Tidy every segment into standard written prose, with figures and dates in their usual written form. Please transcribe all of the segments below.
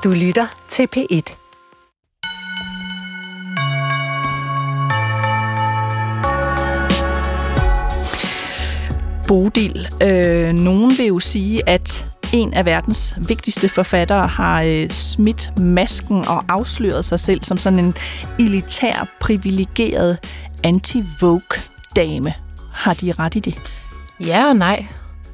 Du lytter til P1. Bodil. Nogen vil jo sige, at en af verdens vigtigste forfattere har smidt masken og afsløret sig selv som sådan en elitær, privilegeret anti-Vogue-dame. Har de ret i det? Ja og nej.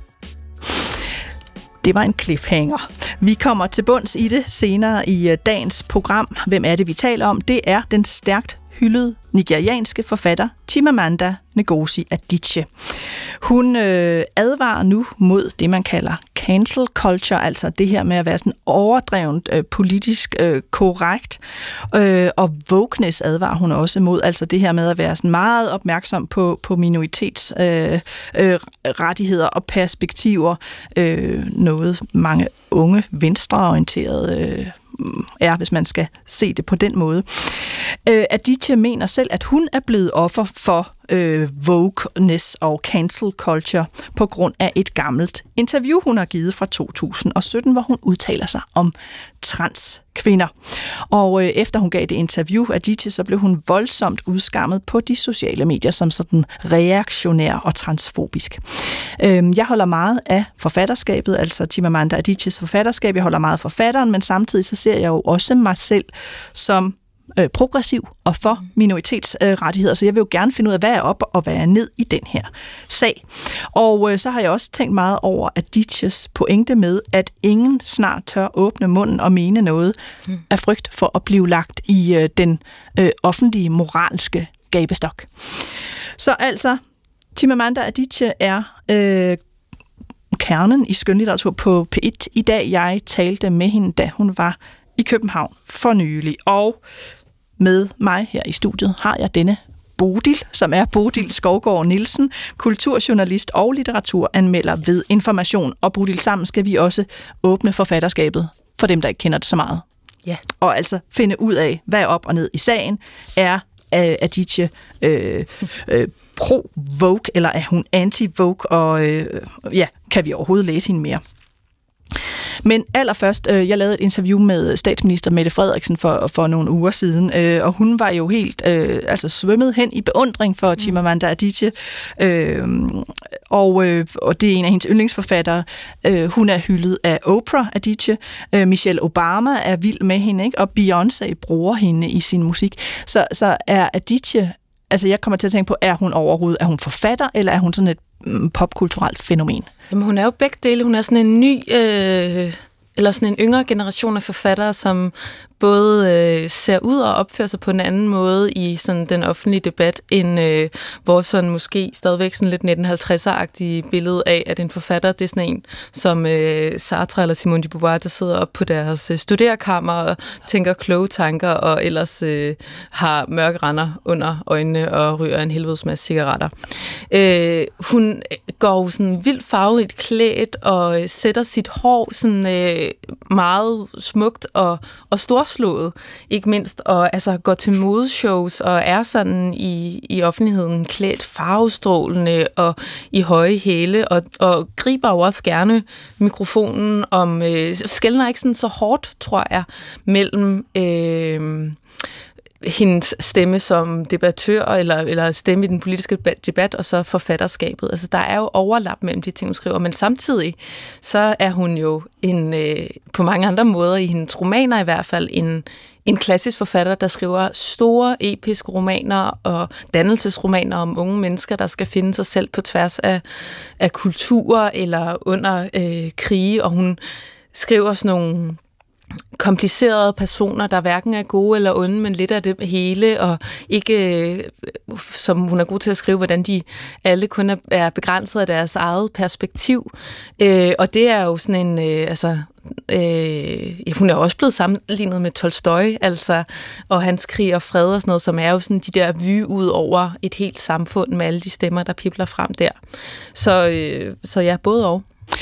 Det var en cliffhanger. Vi kommer til bunds i det senere i dagens program. Hvem er det, vi taler om? Det er den stærkt hyldede nigerianske forfatter Chimamanda Ngozi Adichie. Hun advarer nu mod det, man kalder cancel culture, altså det her med at være sådan overdrevent politisk korrekt. Og wokeness advarer hun også mod, altså det her med at være sådan meget opmærksom på minoritetsrettigheder og perspektiver. Noget mange unge venstreorienterede er, hvis man skal se det på den måde. Adichie mener selv, at hun er blevet offer for wokeness og cancel culture på grund af et gammelt interview, hun har givet fra 2017, hvor hun udtaler sig om transkvinder. Og efter hun gav det interview, Adichie, så blev hun voldsomt udskammet på de sociale medier som sådan reaktionær og transfobisk. Jeg holder meget af forfatterskabet, altså Chimamanda Adichies forfatterskab. Jeg holder meget af forfatteren, men samtidig så ser jeg jo også mig selv som progressiv og for minoritetsrettigheder, så jeg vil jo gerne finde ud af, hvad er op og hvad er ned i den her sag. Og så har jeg også tænkt meget over Adichies pointe med, at ingen snart tør åbne munden og mene noget af frygt for at blive lagt i den offentlige moralske gabestok. Så altså, Chimamanda Adichie er kernen i skønlitteratur på P1 i dag. Jeg talte med hende, da hun var i København for nylig, og med mig her i studiet har jeg denne Bodil, som er Bodil Skovgaard Nielsen, kulturjournalist og litteraturanmelder ved Information. Og Bodil, sammen skal vi også åbne forfatterskabet for dem, der ikke kender det så meget. Ja. Og altså finde ud af, hvad er op og ned i sagen. Er Adichie pro-Vogue, eller er hun anti-Vogue? Og kan vi overhovedet læse hende mere? Men allerførst, jeg lavede et interview med statsminister Mette Frederiksen for nogle uger siden, og hun var jo helt svømmet hen i beundring for Chimamanda Adichie, og det er en af hendes yndlingsforfattere. Hun er hyldet af Oprah Adichie, Michelle Obama er vild med hende, ikke? Og Beyoncé bruger hende i sin musik. Så er Adichie, altså jeg kommer til at tænke på, er hun forfatter, eller er hun sådan et popkulturelt fænomen? Jamen, hun er jo begge dele. Hun er sådan en ny, eller sådan en yngre generation af forfattere, som både ser ud og opfører sig på en anden måde i sådan den offentlige debat, end vores sådan måske stadigvæk sådan lidt 1950'er-agtige billede af, at en forfatter, det er sådan en som Sartre eller Simone de Beauvoir, der sidder op på deres studerekammer og tænker kloge tanker, og ellers har mørke render under øjnene og ryger en helvedes masse cigaretter. Hun går sådan vildt farverigt klædt og sætter sit hår sådan meget smukt og storslået, ikke mindst, og altså går til modeshows og er sådan i offentligheden klædt farvestrålende og i høje hæle, og griber jo også gerne mikrofonen om, skelner ikke sådan så hårdt, tror jeg, mellem hendes stemme som debattør eller stemme i den politiske debat og så forfatterskabet. Altså der er jo overlap mellem de ting, hun skriver, men samtidig så er hun jo på mange andre måder i hendes romaner i hvert fald en klassisk forfatter, der skriver store episke romaner og dannelsesromaner om unge mennesker, der skal finde sig selv på tværs af kulturer eller under krige, og hun skriver sådan nogle komplicerede personer, der hverken er gode eller onde, men lidt af det hele, og ikke, som hun er god til at skrive, hvordan de alle kun er begrænset af deres eget perspektiv. Og det er jo sådan en, hun er også blevet sammenlignet med Tolstoj, altså, og hans Krig og Fred og sådan noget, som er jo sådan de der vy ud over et helt samfund med alle de stemmer, der pibler frem der. Så ja, både og.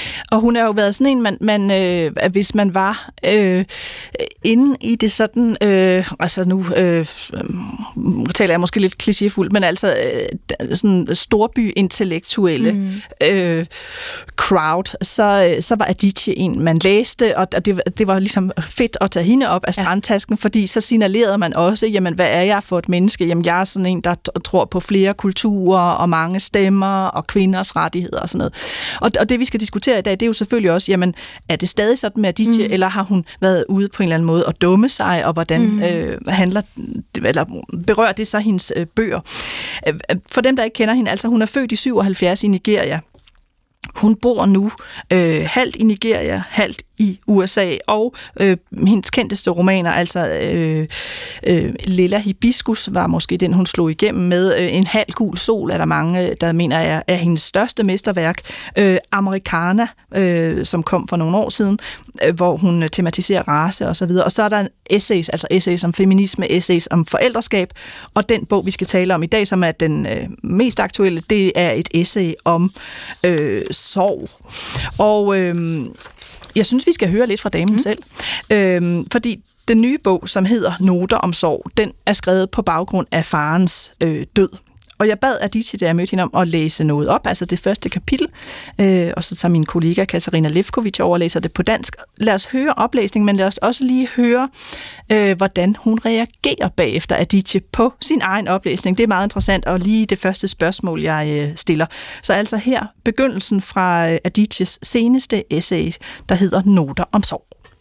Og hun har jo været sådan en, man hvis man var inde i det sådan, altså nu taler jeg måske lidt klichéfuldt, men altså sådan storby-intellektuelle crowd, så var Aditye en, man læste, og det var ligesom fedt at tage hende op af strandtasken, fordi så signalerede man også, jamen hvad er jeg for et menneske? Jamen jeg er sådan en, der tror på flere kulturer og mange stemmer og kvinders rettigheder og sådan noget. Og det vi skal diskutere i dag, det er jo selvfølgelig også, jamen er det stadig sådan med Aditye, eller har hun været ude på en eller anden måde at dumme sig, og hvordan berører det så hendes bøger? For dem, der ikke kender hende, altså hun er født i 77 i Nigeria. Hun bor nu halvt i Nigeria, halvt i USA, og hendes kendteste romaner, altså Lilla Hibiscus var måske den, hun slog igennem med. En halv gul sol er der mange, der mener er hendes største mesterværk. Americana, som kom for nogle år siden, hvor hun tematiserer race og så videre. Og så er der essays om feminisme, essays om forældreskab, og den bog, vi skal tale om i dag, som er den mest aktuelle, det er et essay om sorg. Og jeg synes, vi skal høre lidt fra damen selv. Fordi den nye bog, som hedder Noter om sorg, den er skrevet på baggrund af farens død. Og jeg bad Aditye, da jeg mødte hende, om at læse noget op, altså det første kapitel, og så tager min kollega Katarina Levkovic over og læser det på dansk. Lad os høre oplæsningen, men lad os også lige høre, hvordan hun reagerer bagefter Aditye på sin egen oplæsning. Det er meget interessant, og lige det første spørgsmål, jeg stiller. Så altså her begyndelsen fra Adityes seneste essay, der hedder Noter om sorg.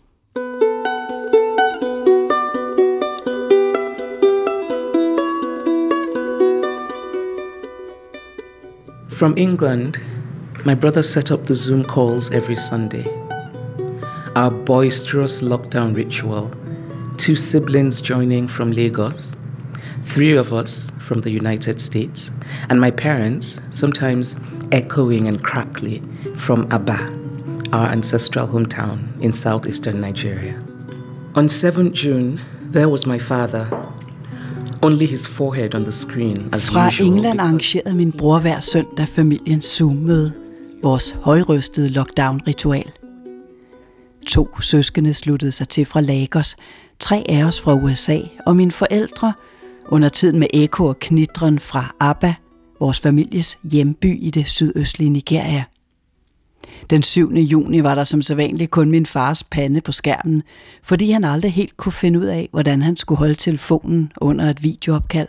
From England, my brother set up the Zoom calls every Sunday. Our boisterous lockdown ritual, 2 siblings joining from Lagos, 3 of us from the United States, and my parents, sometimes echoing and crackly, from Aba, our ancestral hometown in southeastern Nigeria. On 7th June, there was my father. Only his forehead on the screen, as Fra usual. England arrangerede min bror hver søndag familiens Zoom-møde, vores højrøstede lockdown-ritual. 2 søskende sluttede sig til fra Lagos, 3 af os fra USA, og mine forældre, under tiden med ekko og knitren fra Aba, vores families hjemby i det sydøstlige Nigeria. Den 7. juni var der som sædvanligt kun min fars pande på skærmen, fordi han aldrig helt kunne finde ud af, hvordan han skulle holde telefonen under et videoopkald.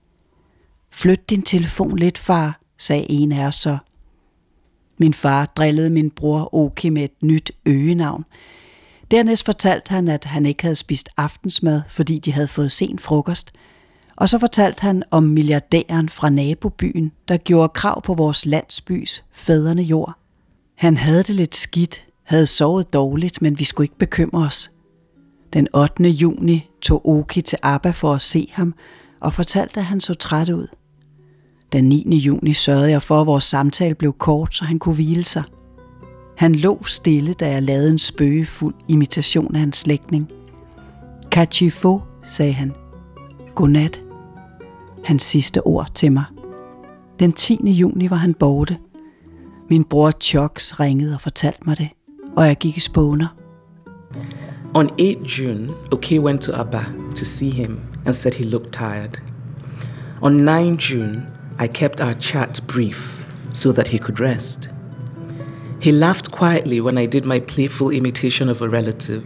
Flyt din telefon lidt, far, sagde en af os så. Min far drillede min bror Oki med et nyt øgenavn. Dernæst fortalte han, at han ikke havde spist aftensmad, fordi de havde fået sen frokost. Og så fortalte han om milliardæren fra nabobyen, der gjorde krav på vores landsbys fædrene jord. Han havde det lidt skidt, havde sovet dårligt, men vi skulle ikke bekymre os. Den 8. juni tog Oki til Aba for at se ham og fortalte, at han så træt ud. Den 9. juni sørgede jeg for, at vores samtale blev kort, så han kunne hvile sig. Han lå stille, da jeg lavede en spøgefuld imitation af hans slægtning. Kachifo, sagde han. Godnat. Hans sidste ord til mig. Den 10. juni var han borte. Min bror Chucks ringede og fortalte mig det, og jeg gik i spåner. On 8 June, Oke went to Aba to see him and said he looked tired. On 9 June, I kept our chat brief so that he could rest. He laughed quietly when I did my playful imitation of a relative.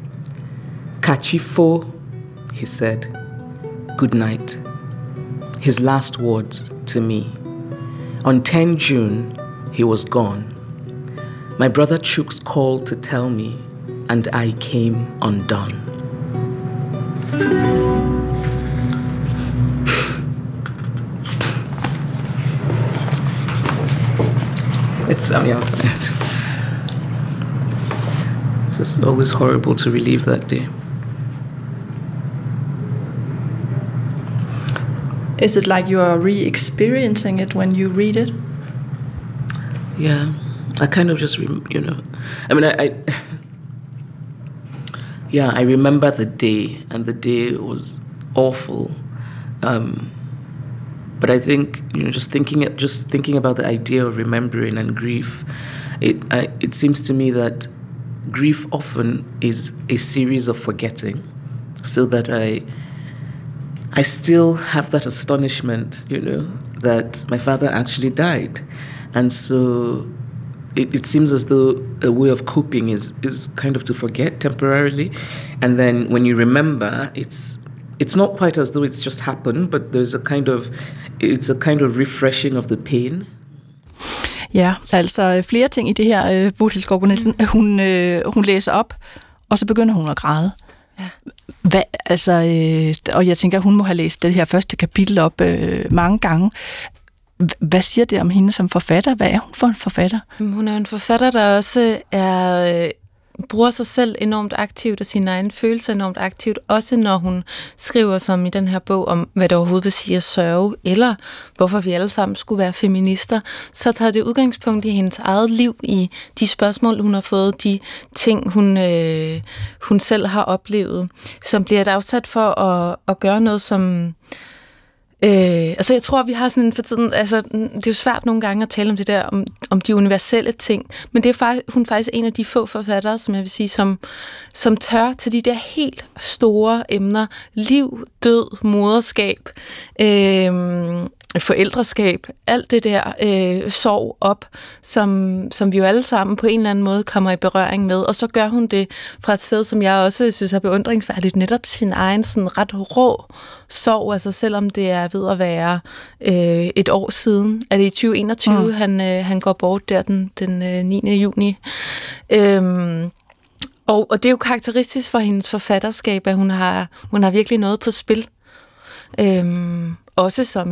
Kachifo, he said, good night. His last words to me. On 10 June, he was gone. My brother Chuks called to tell me, and I came undone. It's just always horrible to relive that day. Is it like you are re-experiencing it when you read it? Yeah, I kind of just, I remember the day, and the day was awful. But I think, just thinking about the idea of remembering and grief, it seems to me that grief often is a series of forgetting, so that I still have that astonishment, that my father actually died. And so it seems as though a way of coping is kind of to forget temporarily. And then when you remember, it's not quite as though it's just happened, but it's a kind of refreshing of the pain. Ja, altså flere ting i det her, Bodil Skovbo Nielsen. Hun læser op, og så begynder hun at græde. Ja. Og jeg tænker, hun må have læst det her første kapitel op mange gange. Hvad siger det om hende som forfatter? Hvad er hun for en forfatter? Hun er en forfatter, der også bruger sig selv enormt aktivt og sine egne følelser enormt aktivt, også når hun skriver som i den her bog om, hvad det overhovedet vil sige at sørge, eller hvorfor vi alle sammen skulle være feminister, så tager det udgangspunkt i hendes eget liv, i de spørgsmål, hun har fået, de ting, hun selv har oplevet, som bliver et afsat for at gøre noget, som jeg tror, vi har sådan for tiden, det er jo svært nogle gange at tale om det der, om de universelle ting, men det er hun faktisk en af de få forfattere, som jeg vil sige, som tør til de der helt store emner, liv, død, moderskab, forældreskab, alt det der sorg op, som vi jo alle sammen på en eller anden måde kommer i berøring med, og så gør hun det fra et sted, som jeg også synes er beundringsværdigt, netop sin egen sådan ret rå sorg, altså selvom det er ved at være et år siden, er det i 2021, han går bort der den 9. juni. Og det er jo karakteristisk for hendes forfatterskab, at hun har virkelig noget på spil. Også som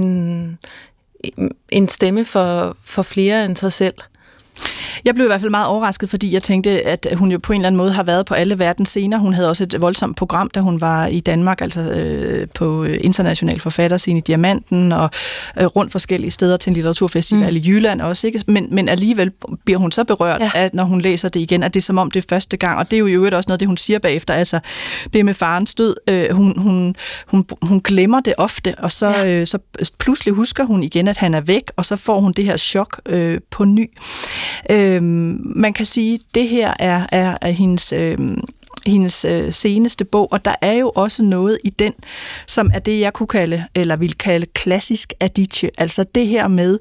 en stemme for flere end sig selv. Jeg blev i hvert fald meget overrasket, fordi jeg tænkte, at hun jo på en eller anden måde har været på alle verdens scener. Hun havde også et voldsomt program, da hun var i Danmark, altså på international forfatterscene i Diamanten, og rundt forskellige steder til en litteraturfestival i Jylland også, ikke? Men alligevel bliver hun så berørt, at når hun læser det igen, at det er som om det er første gang, og det er jo i øvrigt også noget, det hun siger bagefter, altså det med farens død, hun glemmer det ofte, og så pludselig husker hun igen, at han er væk, og så får hun det her chok på ny. Man kan sige, at det her er hendes seneste bog, og der er jo også noget i den, som er det, jeg kunne kalde, eller vil kalde klassisk Adichie. Altså det her med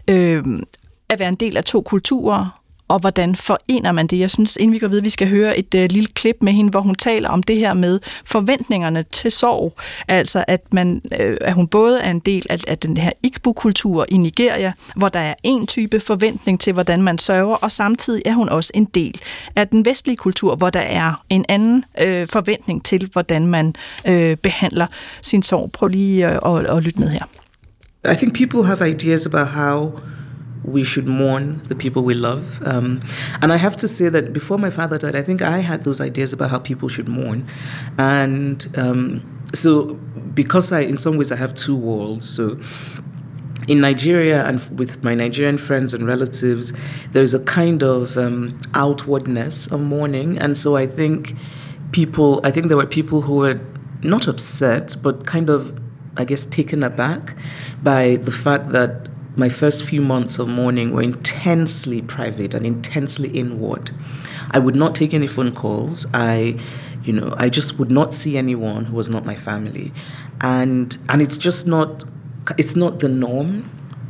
at være en del af to kulturer, og hvordan forener man det? Jeg synes, inden vi går videre, vi skal høre et lille klip med hende, hvor hun taler om det her med forventningerne til sorg. Altså, at hun både er en del af den her Igbo-kultur i Nigeria, hvor der er en type forventning til, hvordan man sørger, og samtidig er hun også en del af den vestlige kultur, hvor der er en anden forventning til, hvordan man behandler sin sorg. Prøv lige at lytte med her. I think people have ideas about how we should mourn the people we love. And I have to say that before my father died, I think I had those ideas about how people should mourn. And so because in some ways I have two worlds. So in Nigeria and with my Nigerian friends and relatives, there's a kind of outwardness of mourning. And so I think there were people who were not upset, but kind of, I guess, taken aback by the fact that my first few months of mourning were intensely private and intensely inward. I would not take any phone calls. I just would not see anyone who was not my family. And it's not the norm.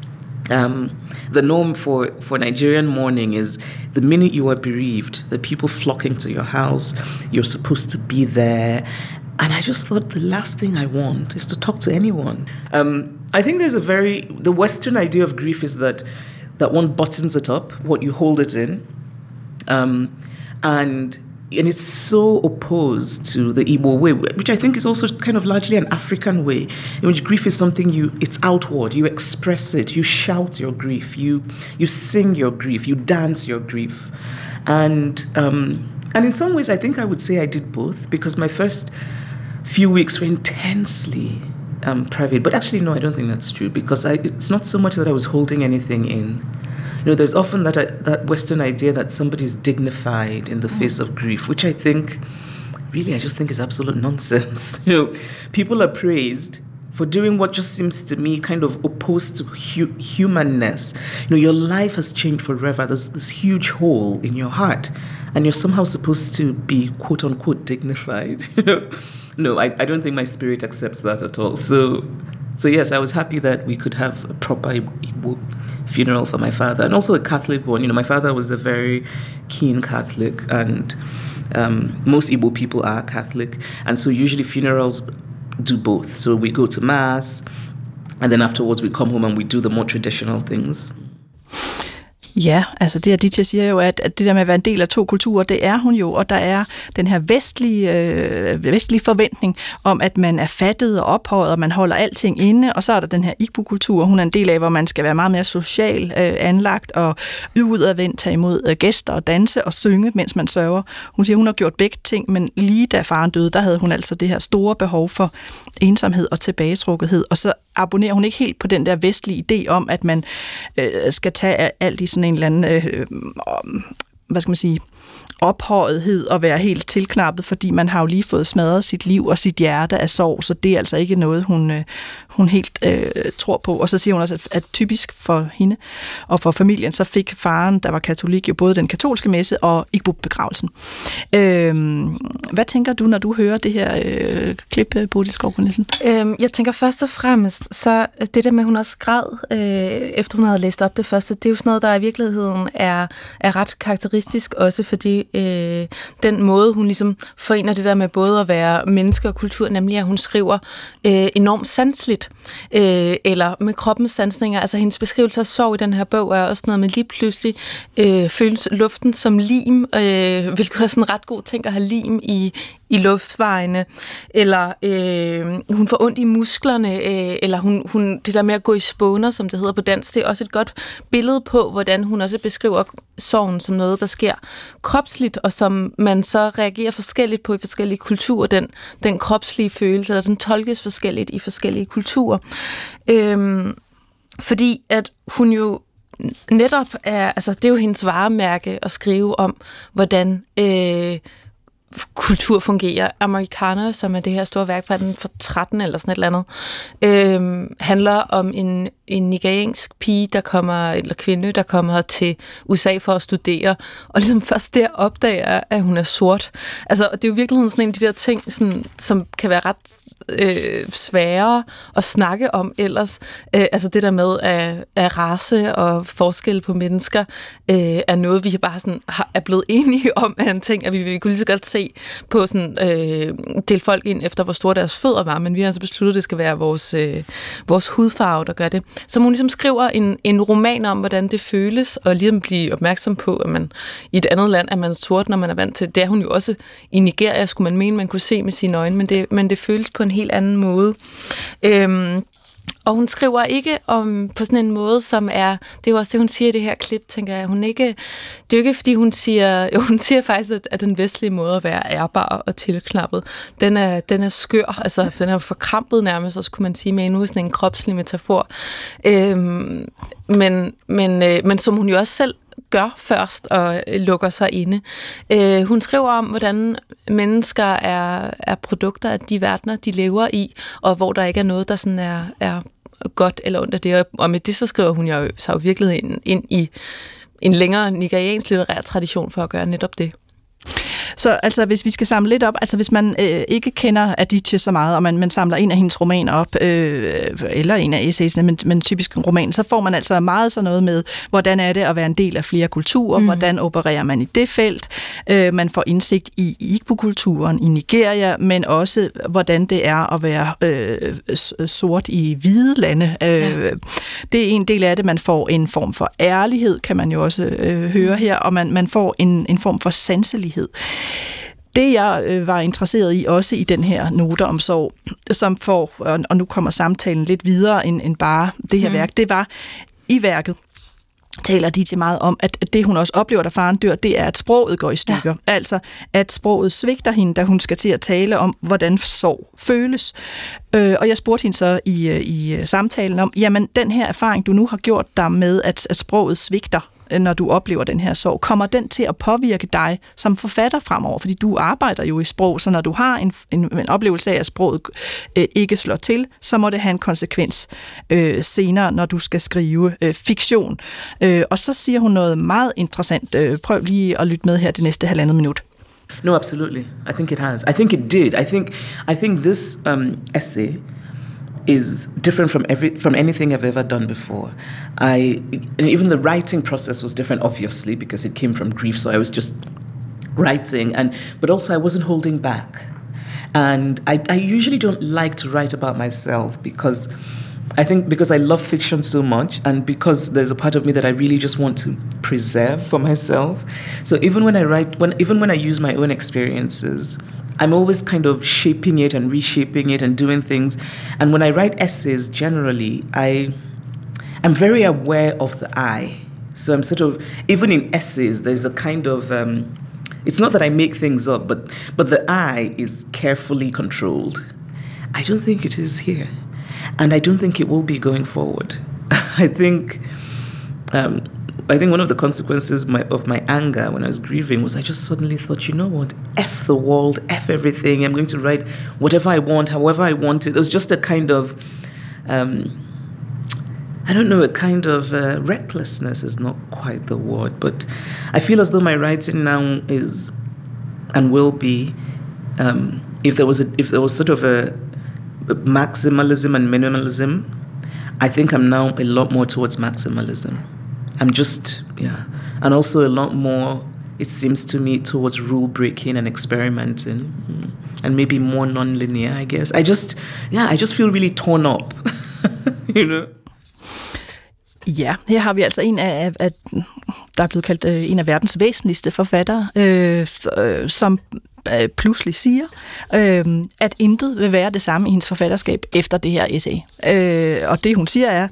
The norm for Nigerian mourning is the minute you are bereaved, the people flocking to your house, you're supposed to be there. And I just thought the last thing I want is to talk to anyone. I think the Western idea of grief is that one buttons it up, what you hold it in. And it's so opposed to the Igbo way, which I think is also kind of largely an African way, in which grief is something it's outward, you express it, you shout your grief, you sing your grief, you dance your grief. And in some ways, I think I would say I did both, because my first few weeks were intensely private. But actually, no, I don't think that's true, because it's not so much that I was holding anything in. There's often that Western idea that somebody's dignified in the face of grief, which I just think is absolute nonsense. People are praised for doing what just seems to me kind of opposed to humanness. Your life has changed forever. There's this huge hole in your heart, and you're somehow supposed to be quote unquote dignified. No, I don't think my spirit accepts that at all. So yes, I was happy that we could have a proper Igbo funeral for my father, and also a Catholic one. My father was a very keen Catholic, and most Igbo people are Catholic, and so usually funerals do both. So we go to mass, and then afterwards we come home and we do the more traditional things. Ja, altså det Aditya siger jo, at det der med at være en del af to kulturer, det er hun jo, og der er den her vestlige forventning om, at man er fattet og ophøjet, og man holder alting inde, og så er der den her Igbo-kultur, hun er en del af, hvor man skal være meget mere social anlagt og udadvendt, tage imod gæster og danse og synge, mens man sørger. Hun siger, hun har gjort begge ting, men lige da faren døde, der havde hun altså det her store behov for ensomhed og tilbagetrukkenhed, og så abonnerer hun ikke helt på den der vestlige idé om, at man skal tage alt i sådan en eller anden, ophøjethed og være helt tilknappet, fordi man har jo lige fået smadret sit liv og sit hjerte af sorg, så det er altså ikke noget, hun helt tror på. Og så siger hun også, at typisk for hende og for familien, så fik faren, der var katolik, jo både den katolske messe og Igbo-begravelsen. Hvad tænker du, når du hører det her klip, Bodil Skovgaard Nielsen? Jeg tænker først og fremmest, så det der med, hun også græd, efter hun havde læst op det første, det er jo sådan noget, der i virkeligheden er ret karakteristisk, også fordi den måde, hun ligesom forener det der med både at være menneske og kultur, nemlig at hun skriver enormt sanseligt, eller med kroppens sansninger. Altså hendes beskrivelse af sorg i den her bog er også noget med lige pludselig føles luften som lim, hvilket er sådan en ret god ting at have lim i luftvejene, eller hun får ondt i musklerne, eller hun det der med at gå i spåner, som det hedder på dansk, det er også et godt billede på, hvordan hun også beskriver sorgen som noget, der sker kropsligt, og som man så reagerer forskelligt på i forskellige kulturer. Den kropslige følelse, eller den tolkes forskelligt i forskellige kulturer. Fordi at hun jo netop er, altså det er jo hendes varemærke at skrive om, hvordan kultur fungerer. Amerikaner, som er det her store værk fra 13 eller sådan et eller andet, handler om en nigeriansk pige, eller kvinde, der kommer til USA for at studere, og ligesom først der opdager, at hun er sort. Altså, det er jo virkelig sådan en af de der ting, sådan, som kan være ret sværere at snakke om ellers. Altså det der med at race og forskel på mennesker er noget, vi bare sådan er blevet enige om af en ting, at vi kunne lige så godt se på sådan dele folk ind efter, hvor store deres fødder var, men vi har altså besluttet, at det skal være vores hudfarve, der gør det. Så hun ligesom skriver en roman om, hvordan det føles, og ligesom blive opmærksom på, at man i et andet land er man sort, når man er vant til. Det er hun jo også i Nigeria, skulle man mene, man kunne se med sine øjne, men det føles på en helt anden måde. Og hun skriver ikke om på sådan en måde, som er, det er jo også det, hun siger i det her klip, tænker jeg. Det er jo ikke, fordi hun siger faktisk, at den vestlige måde at være ærbar og tilknappet, den er skør, altså den er forkrampet nærmest, også kunne man sige, med nu sådan en kropslig metafor. Men som hun jo også selv gør først og lukker sig inde. Hun skriver om, hvordan mennesker er produkter af de verdener, de lever i, og hvor der ikke er noget, der sådan er godt eller ondt af det. Og med det så skriver hun jo så virkelig ind i en længere nigeriansk litterær tradition for at gøre netop det. Så altså, hvis vi skal samle lidt op, altså hvis man ikke kender Aditya så meget, og man samler en af hendes romaner op, eller en af essaysene, men typisk en roman, så får man altså meget sådan noget med, hvordan er det at være en del af flere kulturer, hvordan opererer man i det felt, man får indsigt i Igbo-kulturen i Nigeria, men også hvordan det er at være sort i hvide lande. Det er en del af det, man får en form for ærlighed, kan man jo også høre her, og man får en form for sanselighed. Det, jeg var interesseret i, også i den her noter om sorg, som får, og nu kommer samtalen lidt videre end bare det her værk, det var i værket, taler de til meget om, at det, hun også oplever, da faren dør, det er, at sproget går i stykker. Ja. Altså, at sproget svigter hende, da hun skal til at tale om, hvordan sorg føles. Og jeg spurgte hende så i samtalen om, jamen, den her erfaring, du nu har gjort dig med, at sproget svigter når du oplever den her sorg? Kommer den til at påvirke dig som forfatter fremover? Fordi du arbejder jo i sprog, så når du har en oplevelse af, at sproget ikke slår til, så må det have en konsekvens senere, når du skal skrive fiktion. Og så siger hun noget meget interessant. Prøv lige at lytte med her det næste 1,5 minut. No, absolutely. I think it has. I think it did. I think this essay is different from anything I've ever done before. And even the writing process was different, obviously, because it came from grief. So I was just writing, but also I wasn't holding back. And I usually don't like to write about myself because I love fiction so much, and because there's a part of me that I really just want to preserve for myself. So even when I write, when I use my own experiences, I'm always kind of shaping it and reshaping it and doing things. And when I write essays, generally, I'm very aware of the I. So I'm sort of, even in essays, there's a kind of, it's not that I make things up, but the I is carefully controlled. I don't think it is here. And I don't think it will be going forward. I think one of the consequences of my anger when I was grieving was I just suddenly thought, you know what, F the world, F everything. I'm going to write whatever I want, however I want it. There was just a kind of, recklessness is not quite the word, but I feel as though my writing now is and will be, if there was sort of a maximalism and minimalism, I think I'm now a lot more towards maximalism. And also a lot more, it seems to me, towards rule breaking and experimenting, and maybe more non-linear, I guess. I just feel really torn up, you know. Ja, her har vi altså en af der er blevet kaldt en af verdens væsentligste forfattere, som pludselig siger, at intet vil være det samme i hendes forfatterskab efter det her essay. Og det hun siger er,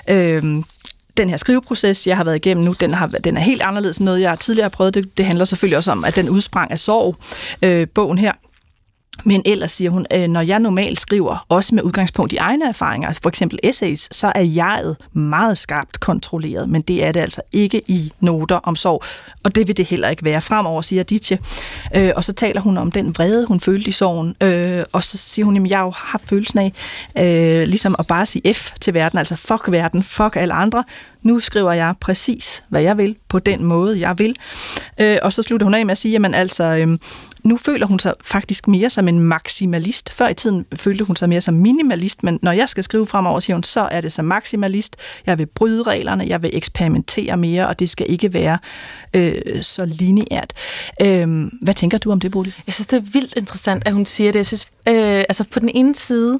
den her skriveproces, jeg har været igennem nu, den er helt anderledes end noget, jeg tidligere har prøvet. Det handler selvfølgelig også om, at den udsprang af sorg, bogen her. Men ellers siger hun, når jeg normalt skriver, også med udgangspunkt i egne erfaringer, altså for eksempel essays, så er jeget meget skarpt kontrolleret, men det er det altså ikke i noter om sorg, og det vil det heller ikke være fremover, siger Aditya. Og så taler hun om den vrede, hun følte i sorgen, og så siger hun, at jeg jo har følelsen af ligesom at bare sige F til verden, altså fuck verden, fuck alle andre. Nu skriver jeg præcis, hvad jeg vil, på den måde, jeg vil. Og så slutter hun af med at sige, jamen altså, nu føler hun sig faktisk mere som en maksimalist. Før i tiden følte hun sig mere som minimalist, men når jeg skal skrive fremover, siger hun, så er det som maksimalist. Jeg vil bryde reglerne, jeg vil eksperimentere mere, og det skal ikke være så lineært. Hvad tænker du om det, Bodil? Jeg synes, det er vildt interessant, at hun siger det. Jeg synes, altså på den ene side,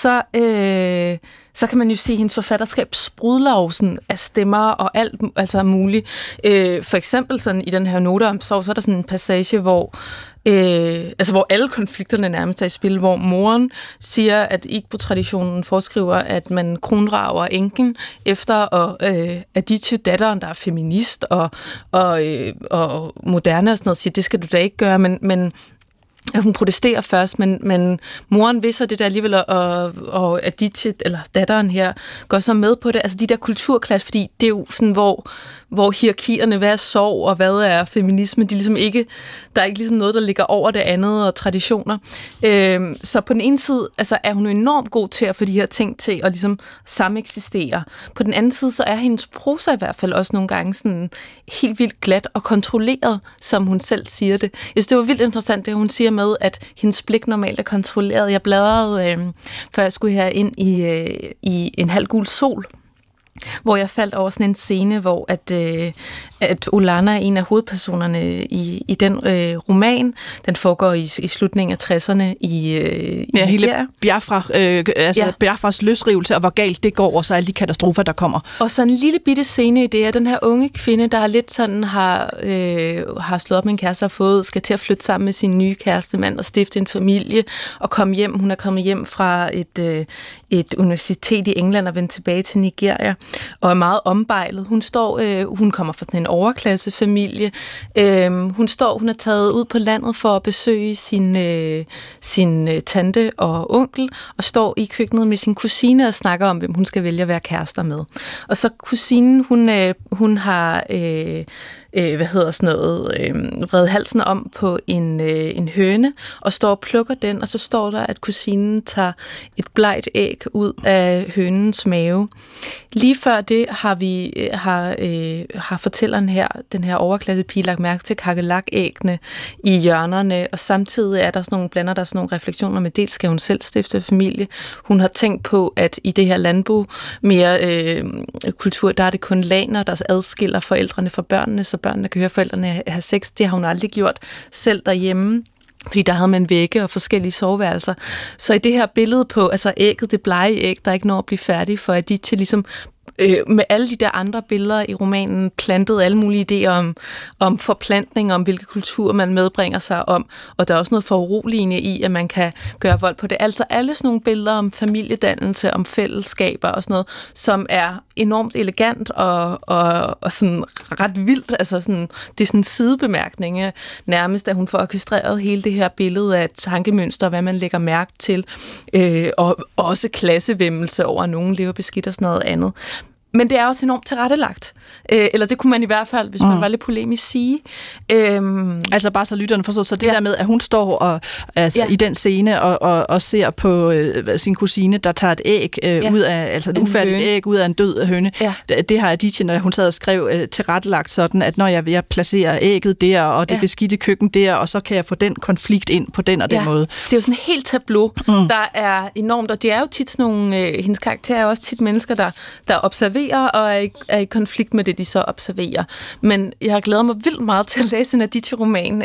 så kan man jo sige, at hendes forfatterskab sprudler sådan af stemmer og alt altså muligt. For eksempel sådan i den her noter om sorg, så er der sådan en passage, hvor alle konflikterne nærmest er i spil, hvor moren siger, at Igbo-traditionen foreskriver, at man kronrager enken efter, og Aditya, datteren, der er feminist og moderne og sådan noget, siger, det skal du da ikke gøre, men hun protesterer først, men moren vidser det der alligevel, og Aditya, eller datteren her, går så med på det. Altså de der kulturklasse, fordi det er jo sådan, hvor hierarkierne, hvad er sorg, og hvad er feminisme, de ligesom ikke, der er ikke ligesom noget, der ligger over det andet, og traditioner. Så på den ene side, altså er hun enormt god til at få de her ting til at ligesom sameksistere. På den anden side, så er hendes prosa i hvert fald også nogle gange sådan helt vildt glat og kontrolleret, som hun selv siger det. Jeg synes, det var vildt interessant, det hun siger med, at hendes blik normalt er kontrolleret. Jeg bladrede, før jeg skulle her ind i En halv gul sol, hvor jeg faldt over sådan en scene, hvor at Olana er en af hovedpersonerne i den roman. Den foregår i slutningen af 60'erne i hele Biafras løsrivelse, og hvor galt det går, og så alle de katastrofer, der kommer. Og så en lille bitte scene i det er den her unge kvinde, der lidt sådan har slået op med en kæreste og skal til at flytte sammen med sin nye kærestemand og stifte en familie og komme hjem. Hun er kommet hjem fra et universitet i England og vendt tilbage til Nigeria. og er meget ombejlet. Hun kommer fra sådan en overklassefamilie. Hun er taget ud på landet for at besøge sin tante og onkel, og står i køkkenet med sin kusine og snakker om, hvem hun skal vælge at være kærester med. Og så kusinen, hun har vredet halsen om på en høne, og står og plukker den, og så står der, at kusinen tager et blegt æg ud af hønens mave. Lige før det har fortælleren her, den her overklassepige, lagt mærke til kakelak-æggene i hjørnerne, og samtidig er der blander der sådan nogle refleksioner med, dels skal hun selv stifte familie. Hun har tænkt på, at i det her landbrug mere kultur, der er det kun laner, der adskiller forældrene fra børnene, så børnene kan høre forældrene have sex. Det har hun aldrig gjort selv derhjemme, fordi der havde man vægge og forskellige soveværelser. Så i det her billede på, altså ægget, det blege æg, der ikke når at blive færdig, for at de til ligesom med alle de der andre billeder i romanen plantede alle mulige idéer om forplantning, om hvilke kultur man medbringer sig om, og der er også noget foruroligende i, at man kan gøre vold på det. Altså alle sådan nogle billeder om familiedannelse, om fællesskaber og sådan noget, som er enormt elegant og sådan ret vildt. Altså sådan, det er sådan en sidebemærkning nærmest, at hun får orkestreret hele det her billede af tankemønster, hvad man lægger mærke til, og også klassevæmmelse over, at nogen lever beskidt og sådan noget andet. Men det er også enormt tilrettelagt. Eller det kunne man i hvert fald, hvis man var lidt polemisk, sige. Altså bare så lytterne forstår, så det der med, at hun står og, i den scene og ser på sin kusine, der tager et æg ud af, altså et ufærdigt æg ud af en død høne. Ja. Det har Aditya, når hun sad og skrev, tilrettelagt sådan, at når jeg placerer ægget der, og det beskidte køkken der, og så kan jeg få den konflikt ind på den og den måde. Det er jo sådan et helt tableau, der er enormt, og det er jo tit sådan nogle, hendes karakter er også tit mennesker, der observerer og er i konflikt med det, de så observerer. Men jeg har glædet mig vildt meget til at læse en Aditya-roman,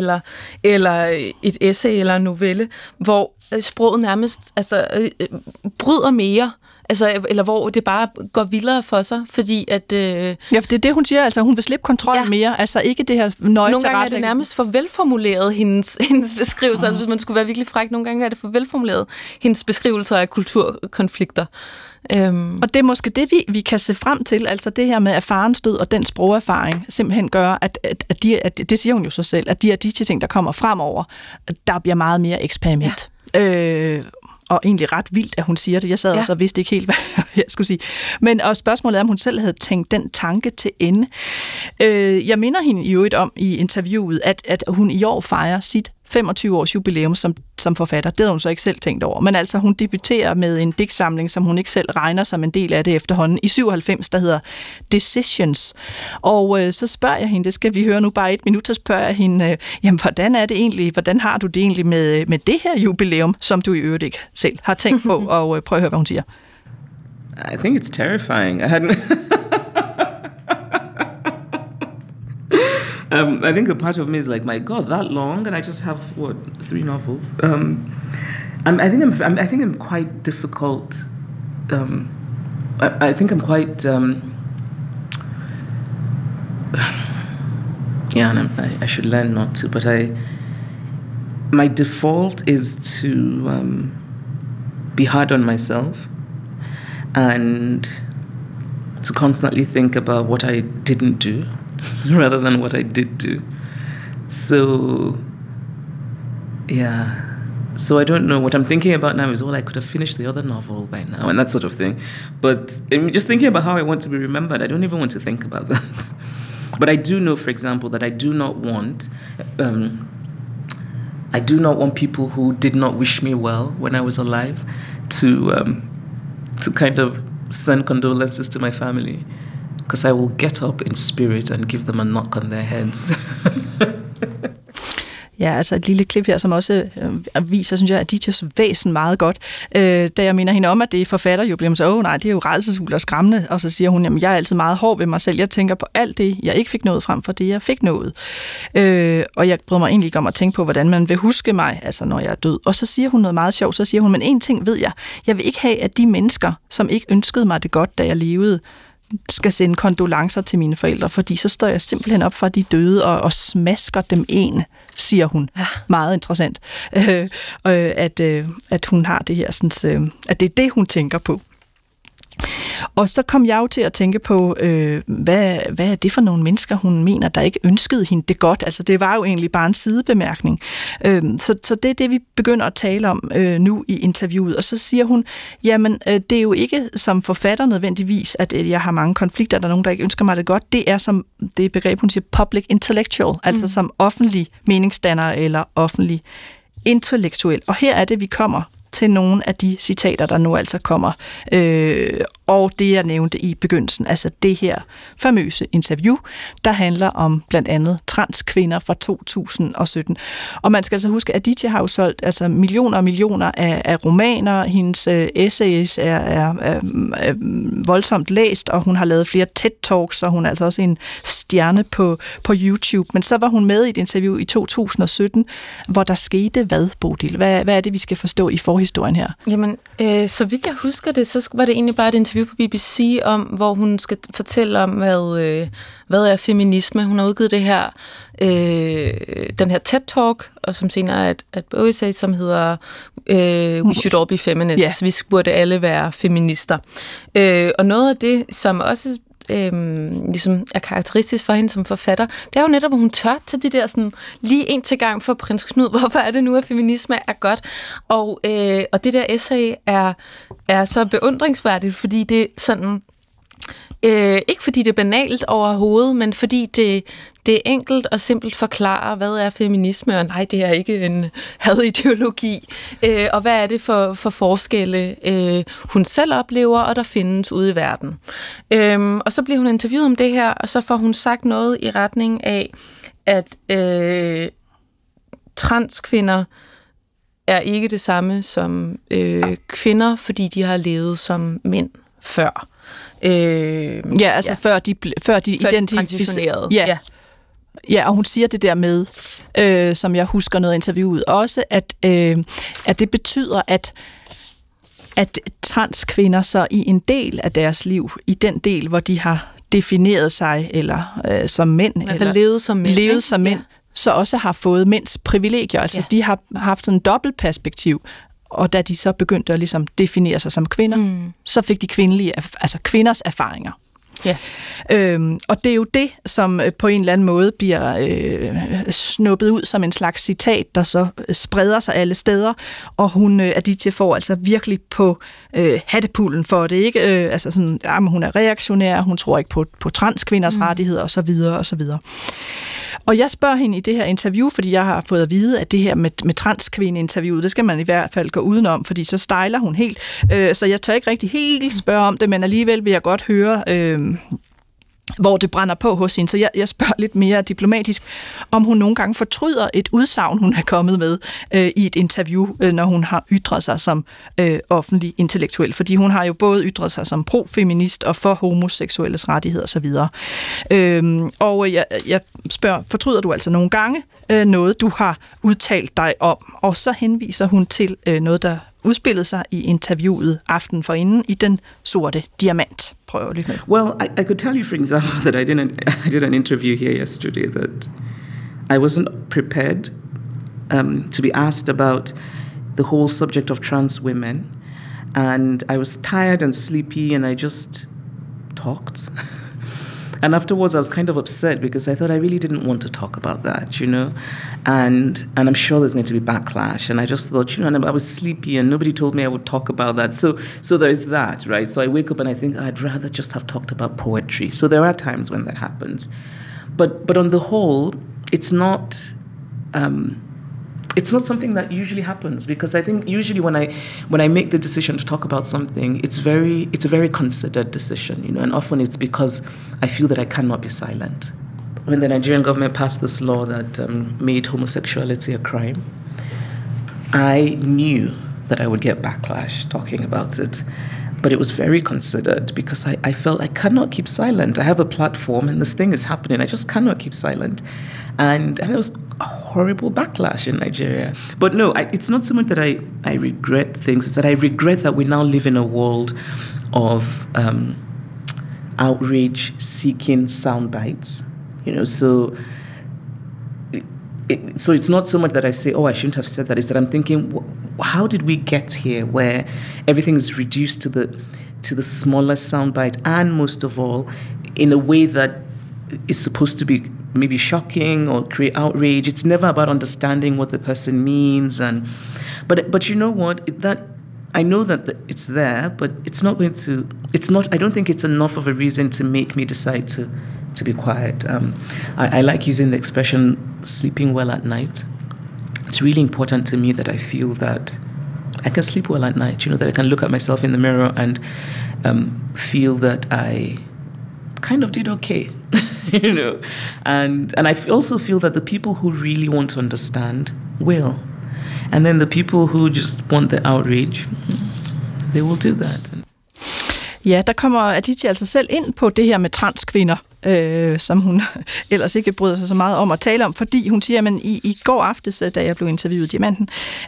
eller et essay eller en novelle, hvor sproget nærmest bryder mere, eller hvor det bare går vildere for sig, fordi at... Ja, for det er det, hun siger, altså hun vil slippe kontrollen mere, altså ikke det her nøje. Nogle gange er det nærmest for velformuleret, hendes beskrivelser, altså hvis man skulle være virkelig fræk, nogle gange er det for velformuleret, hendes beskrivelser af kulturkonflikter. Og det er måske det, vi kan se frem til, altså det her med, at farens død og den sprogerfaring simpelthen gør, at det siger hun jo så selv, at de ting, der kommer fremover, der bliver meget mere eksperiment. Ja. Og egentlig ret vildt, at hun siger det. Jeg sad også og vidste ikke helt, hvad jeg skulle sige. Men og spørgsmålet er, om hun selv havde tænkt den tanke til ende. Jeg minder hende i øvrigt om i interviewet, at hun i år fejrer sit 25-års jubilæum som forfatter. Det havde hun så ikke selv tænkt over. Men altså, hun debuterer med en digtsamling, som hun ikke selv regner som en del af det efterhånden, i 97, der hedder Decisions. Og så spørger jeg hende, det skal vi høre nu bare 1 minut, så spørger jeg hende, jamen, hvordan har du det egentlig med det her jubilæum, som du i øvrigt ikke selv har tænkt på, og prøv at høre, hvad hun siger. I think it's terrifying. I think a part of me is like, my God, that long, and I just have 3 novels. I think I'm quite difficult. I think I'm quite. And I should learn not to. But my default is to be hard on myself, and to constantly think about what I didn't do, rather than what I did do. So I don't know. What I'm thinking about now is, I could have finished the other novel by now, and that sort of thing. But I'm just thinking about how I want to be remembered. I don't even want to think about that. But I do know, for example, that I do not want people who did not wish me well when I was alive to kind of send condolences to my family. Because I will get up in spirit and give them a knock on their heads. Ja, altså et lille klip her, som også viser, synes jeg, Adityas væsen meget godt. Da jeg minder hende om, at det er forfatterjubilæum, så nej, det er jo rædselsfuldt og skræmmende. Og så siger hun, jamen jeg er altid meget hård ved mig selv. Jeg tænker på alt det, jeg ikke fik nået frem for det, jeg fik nået. Og jeg bryder mig egentlig ikke om at tænke på, hvordan man vil huske mig, altså når jeg er død. Og så siger hun noget meget sjovt. Så siger hun, men en ting ved jeg. Jeg vil ikke have, at de mennesker, som ikke ønskede mig det godt, da jeg levede, skal sende kondolencer til mine forældre, fordi så står jeg simpelthen op for de døde og smasker dem en, siger hun. Ja. Meget interessant. At hun har det her, sådan, at det er det, hun tænker på. Og så kom jeg jo til at tænke på, hvad er det for nogle mennesker, hun mener, der ikke ønskede hende det godt? Altså det var jo egentlig bare en sidebemærkning. Så det er det, vi begynder at tale om nu i interviewet. Og så siger hun, jamen det er jo ikke som forfatter nødvendigvis, at jeg har mange konflikter, der er nogen, der ikke ønsker mig det godt. Det er som det begreb, hun siger, public intellectual, altså som offentlig meningsdanner eller offentlig intellektuel. Og her er det, vi kommer til nogle af de citater, der nu altså kommer. Og det, jeg nævnte i begyndelsen, altså det her famøse interview, der handler om blandt andet transkvinder fra 2017. Og man skal altså huske, at Aditya har jo solgt altså millioner og millioner af romaner. Hendes essays er voldsomt læst, og hun har lavet flere TED-talks, og hun er altså også en stjerne på YouTube. Men så var hun med i et interview i 2017, hvor der skete hvad, Bodil? Hvad er det, vi skal forstå i forhistorien her? Jamen, så vidt jeg husker det, så var det egentlig bare et interview på BBC om, hvor hun skal fortælle om, hvad er feminisme. Hun har udgivet det her, den her TED-talk, og som senere er et essay, som hedder We Should All Be Feminists. Yeah. Vi burde alle være feminister. Og noget af det, som også ligesom er karakteristisk for hende som forfatter, det er jo netop, at hun tør tage de der sådan, lige en til gang for prins Knud, hvorfor er det nu, at feminisme er godt? Og det der essay er så beundringsværdigt, fordi det sådan, ikke fordi det er banalt overhovedet, men fordi det er enkelt og simpelt forklarer, hvad er feminisme, og nej, det er ikke en hadideologi, og hvad er det for forskelle, hun selv oplever, og der findes ude i verden. Og så bliver hun interviewet om det her, og så får hun sagt noget i retning af, at transkvinder er ikke det samme som kvinder, fordi de har levet som mænd før. Før de identificerede. Ja, og hun siger det der med, som jeg husker noget interviewet også, at det betyder, at transkvinder så i en del af deres liv, i den del, hvor de har defineret sig eller som mænd, eller levet som mænd, så også har fået mænds privilegier. Altså de har haft sådan en dobbelt perspektiv. Og da de så begyndte at ligesom definere sig som kvinder, så fik de kvinders erfaringer. Ja. Og det er jo det, som på en eller anden måde bliver snuppet ud som en slags citat, der så spreder sig alle steder, og Aditya får altså virkelig på hattepullen for det, ikke? Altså sådan, men hun er reaktionær, hun tror ikke på transkvinders rettigheder, og så videre, og så videre. Og jeg spørger hende i det her interview, fordi jeg har fået at vide, at det her med transkvinde-interviewet, det skal man i hvert fald gå udenom, fordi så stejler hun helt. Så jeg tør ikke rigtig helt spørge om det, men alligevel vil jeg godt høre, hvor det brænder på hos hende. Så jeg spørger lidt mere diplomatisk, om hun nogle gange fortryder et udsagn, hun er kommet med i et interview, når hun har ytret sig som offentlig intellektuel. Fordi hun har jo både ytret sig som pro-feminist og for homoseksuelles rettigheder osv. Og jeg spørger, fortryder du altså nogle gange noget, du har udtalt dig om? Og så henviser hun til noget, der udspillede sig i interviewet aften forinden i Den Sorte Diamant. Prøv at lytte med. Well, I could tell you, for example, that I did an interview here yesterday that I wasn't prepared to be asked about the whole subject of trans women, and I was tired and sleepy, and I just talked. And afterwards, I was kind of upset because I thought I really didn't want to talk about that, you know, and I'm sure there's going to be backlash. And I just thought, you know, and I was sleepy and nobody told me I would talk about that. So there's that, right? So I wake up and I think I'd rather just have talked about poetry. So there are times when that happens, but on the whole, it's not something that usually happens, because I think usually when I make the decision to talk about something, it's a very considered decision, you know, and often it's because I feel that I cannot be silent. When the Nigerian government passed this law that made homosexuality a crime, I knew that I would get backlash talking about it. But it was very considered because I felt I cannot keep silent. I have a platform and this thing is happening. I just cannot keep silent. And there was a horrible backlash in Nigeria. But no, it's not so much that I regret things. It's that I regret that we now live in a world of outrage-seeking sound bites. You know, so it's not so much that I say, oh, I shouldn't have said that. It's that I'm thinking, how did we get here where everything is reduced to to the smallest soundbite, and most of all, in a way that is supposed to be maybe shocking or create outrage. It's never about understanding what the person means, but you know what? I know that it's there, but it's not going to. It's not. I don't think it's enough of a reason to make me decide to be quiet. I like using the expression "sleeping well at night." It's really important to me that I feel that I can sleep well at night. You know, that I can look at myself in the mirror and feel that I kind of did okay. You know, and I also feel that the people who really want to understand will. And then the people who just want the outrage, they will do that. Ja, der kommer Aditya altså selv ind på det her med transkvinder, som hun ellers ikke bryder sig så meget om at tale om, fordi hun siger, at i går aftes, da jeg blev interviewet i Diamanten,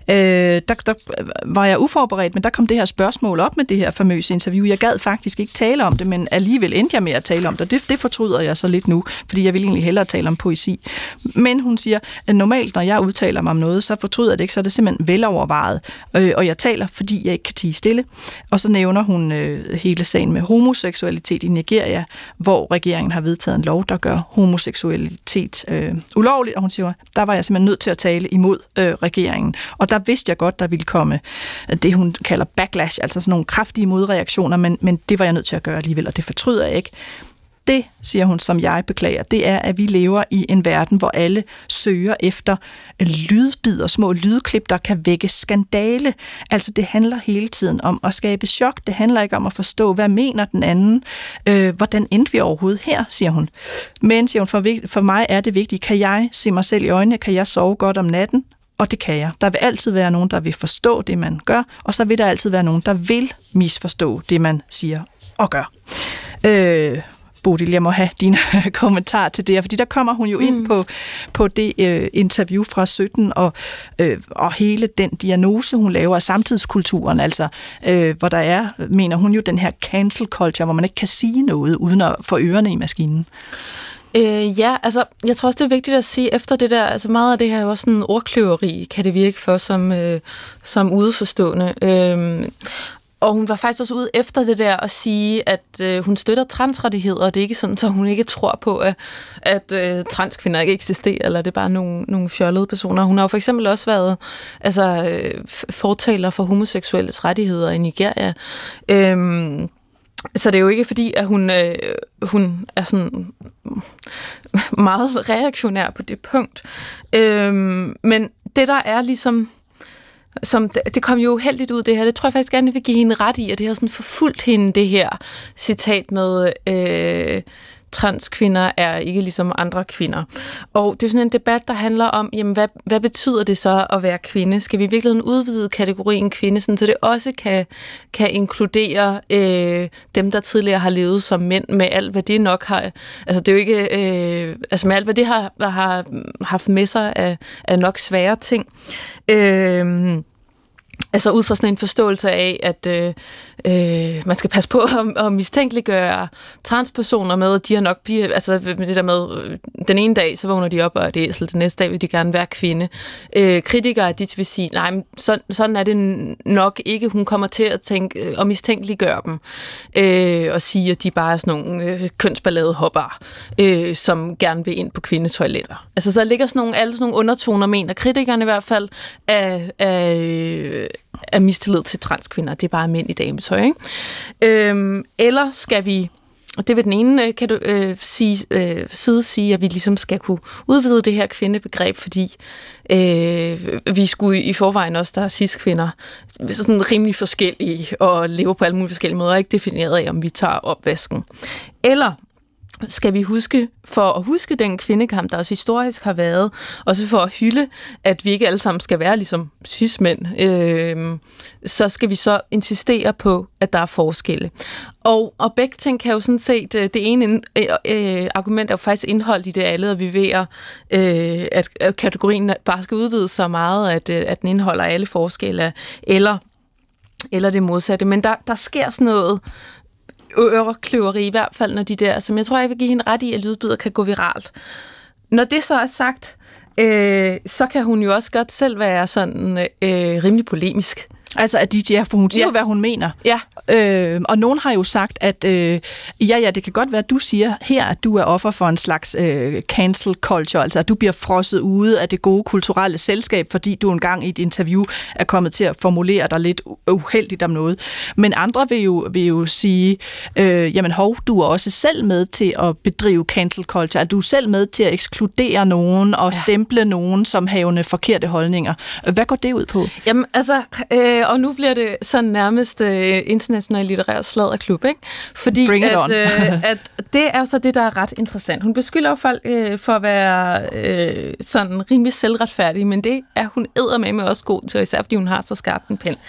der var jeg uforberedt, men der kom det her spørgsmål op med det her famøse interview. Jeg gad faktisk ikke tale om det, men alligevel endte jeg med at tale om det. Det fortryder jeg så lidt nu, fordi jeg vil egentlig hellere tale om poesi. Men hun siger, at normalt, når jeg udtaler mig om noget, så fortryder jeg det ikke, så er det simpelthen velovervejet. Og jeg taler, fordi jeg ikke kan tie stille. Og så nævner hun hele sagen med homoseksualitet i Nigeria, hvor regeringen har vedtaget en lov, der gør homoseksualitet ulovligt, og hun siger, der var jeg simpelthen nødt til at tale imod regeringen. Og der vidste jeg godt, der ville komme det, hun kalder backlash, altså sådan nogle kraftige modreaktioner, men det var jeg nødt til at gøre alligevel, og det fortryder jeg ikke. Det, siger hun, som jeg beklager, det er, at vi lever i en verden, hvor alle søger efter lydbidder, små lydklip, der kan vække skandale. Altså, det handler hele tiden om at skabe chok. Det handler ikke om at forstå, hvad mener den anden. Hvordan endte vi overhovedet her, siger hun. Men, siger hun, for mig er det vigtigt. Kan jeg se mig selv i øjnene? Kan jeg sove godt om natten? Og det kan jeg. Der vil altid være nogen, der vil forstå det, man gør, og så vil der altid være nogen, der vil misforstå det, man siger og gør. Bodil, jeg må have dine kommentar til det her, fordi der kommer hun jo ind på det interview fra 17 og hele den diagnose, hun laver af samtidskulturen, altså hvor der er, mener hun jo, den her cancel culture, hvor man ikke kan sige noget uden at få ørerne i maskinen. Ja, altså, jeg tror også, det er vigtigt at sige efter det der, altså meget af det her er jo også sådan en ordkløveri, kan det virke for som udeforstående. Og hun var faktisk også ude efter det der at sige, at hun støtter transrettigheder, og det er ikke sådan, så hun ikke tror på, at transkvinder ikke eksisterer, eller det er bare nogle fjollede personer. Hun har jo for eksempel også været fortaler for homoseksuelles rettigheder i Nigeria. Så det er jo ikke fordi, at hun er sådan meget reaktionær på det punkt. Men det der er ligesom... det kom jo uheldigt ud, det her. Det tror jeg faktisk gerne, jeg vil give hende ret i, at det har sådan forfulgt hende, det her citat med transkvinder er ikke ligesom andre kvinder. Og det er sådan en debat, der handler om, jamen, hvad betyder det så at være kvinde? Skal vi virkelig udvide kategorien kvinde, sådan, så det også kan inkludere dem, der tidligere har levet som mænd, med alt, hvad det nok har... Altså, det er jo ikke... med alt, hvad det har haft med sig af nok svære ting. Altså ud fra sådan en forståelse af, at man skal passe på at mistænkeliggøre transpersoner med, at de har nok altså med det der med, den ene dag, så vågner de op og er et æsel, den næste dag vil de gerne være kvinde. Kritikere, de vil sige, nej, men sådan er det nok ikke. Hun kommer til at tænke og mistænkeliggøre dem, og sige, at de bare er sådan nogle kønsballade hopper, som gerne vil ind på kvindetoiletter. Altså så ligger alle sådan nogle undertoner, mener kritikerne i hvert fald, af mistillid til transkvinder. Det er bare mænd i dametøj, ikke? Eller skal vi, og det vil den ene side sige, at vi ligesom skal kunne udvide det her kvindebegreb, fordi vi skulle i forvejen også, der er cis-kvinder, sådan rimelig forskellige og lever på alle mulige forskellige måder, ikke defineret af, om vi tager opvasken. Eller skal vi huske den kvindekamp, der også historisk har været, også for at hylde, at vi ikke alle sammen skal være ligesom cis-mænd, så skal vi så insistere på, at der er forskelle. Og begge ting kan jo sådan set, det ene argument er jo faktisk indholdt i det alle, og vi ved, at kategorien bare skal udvides så meget, at den indeholder alle forskelle, eller det modsatte. Men der sker sådan noget ørekløveri, i hvert fald når de der, som jeg tror, jeg vil give hende ret i, at lydbidder kan gå viralt. Når det så er sagt, så kan hun jo også godt selv være sådan rimelig polemisk. Altså Aditya, for hun siger hvad hun mener. Ja. Og nogen har jo sagt, at det kan godt være, at du siger her, at du er offer for en slags cancel culture, altså at du bliver frosset ude af det gode kulturelle selskab, fordi du engang i et interview er kommet til at formulere dig lidt uheldigt om noget. Men andre vil jo sige, jamen du er også selv med til at bedrive cancel culture, at du er selv med til at ekskludere nogen og stemple nogen som havende forkerte holdninger. Hvad går det ud på? Jamen altså, og nu bliver det sådan nærmest international litterær sladderklub, ikke? Fordi at det er så det, der er ret interessant. Hun beskylder folk for at være sådan rimelig selvretfærdig, men det er hun eddermame også god til, især fordi hun har så skarpt en pen.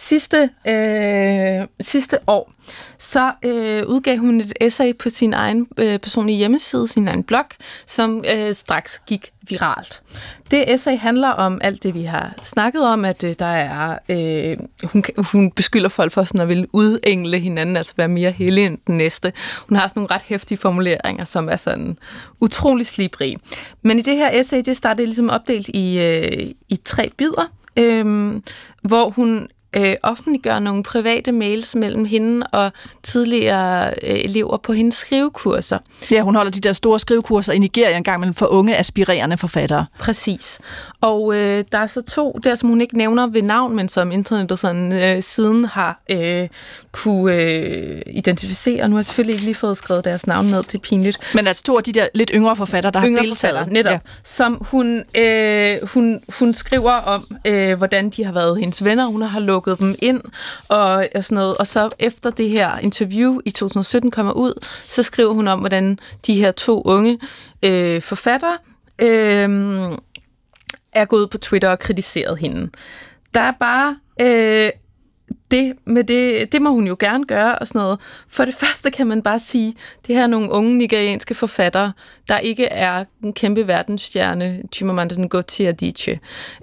Sidste år, så udgav hun et essay på sin egen personlige hjemmeside, sin egen blog, som straks gik viralt. Det essay handler om alt det, vi har snakket om, at der er... hun beskylder folk for sådan at ville udengle hinanden, altså være mere hellig end den næste. Hun har sådan nogle ret heftige formuleringer, som er sådan utrolig slibrige. Men i det her essay, det startede ligesom opdelt i 3 bidder, hvor hun offentliggør nogle private mails mellem hende og tidligere elever på hendes skrivekurser. Ja, hun holder de der store skrivekurser i Nigeria en gang mellem for unge, aspirerende forfattere. Præcis. Og der er så 2 der, som hun ikke nævner ved navn, men som internettet sådan, siden har kunne identificere. Nu har jeg selvfølgelig ikke lige fået skrevet deres navn ned, det er pinligt. Men altså 2 af de der lidt yngre forfattere, der har deltaget. Netop. Som hun skriver om, hvordan de har været hendes venner. Hun har lukket dem ind og sådan noget. Og så efter det her interview i 2017 kommer ud, så skriver hun om, hvordan de her 2 unge forfattere er gået på Twitter og kritiseret hende. Der er bare det må hun jo gerne gøre og sådan noget. For det første kan man bare sige, det her er nogle unge nigerianske forfattere, der ikke er en kæmpe verdensstjerne, Chimamanda Ngozi Adichie,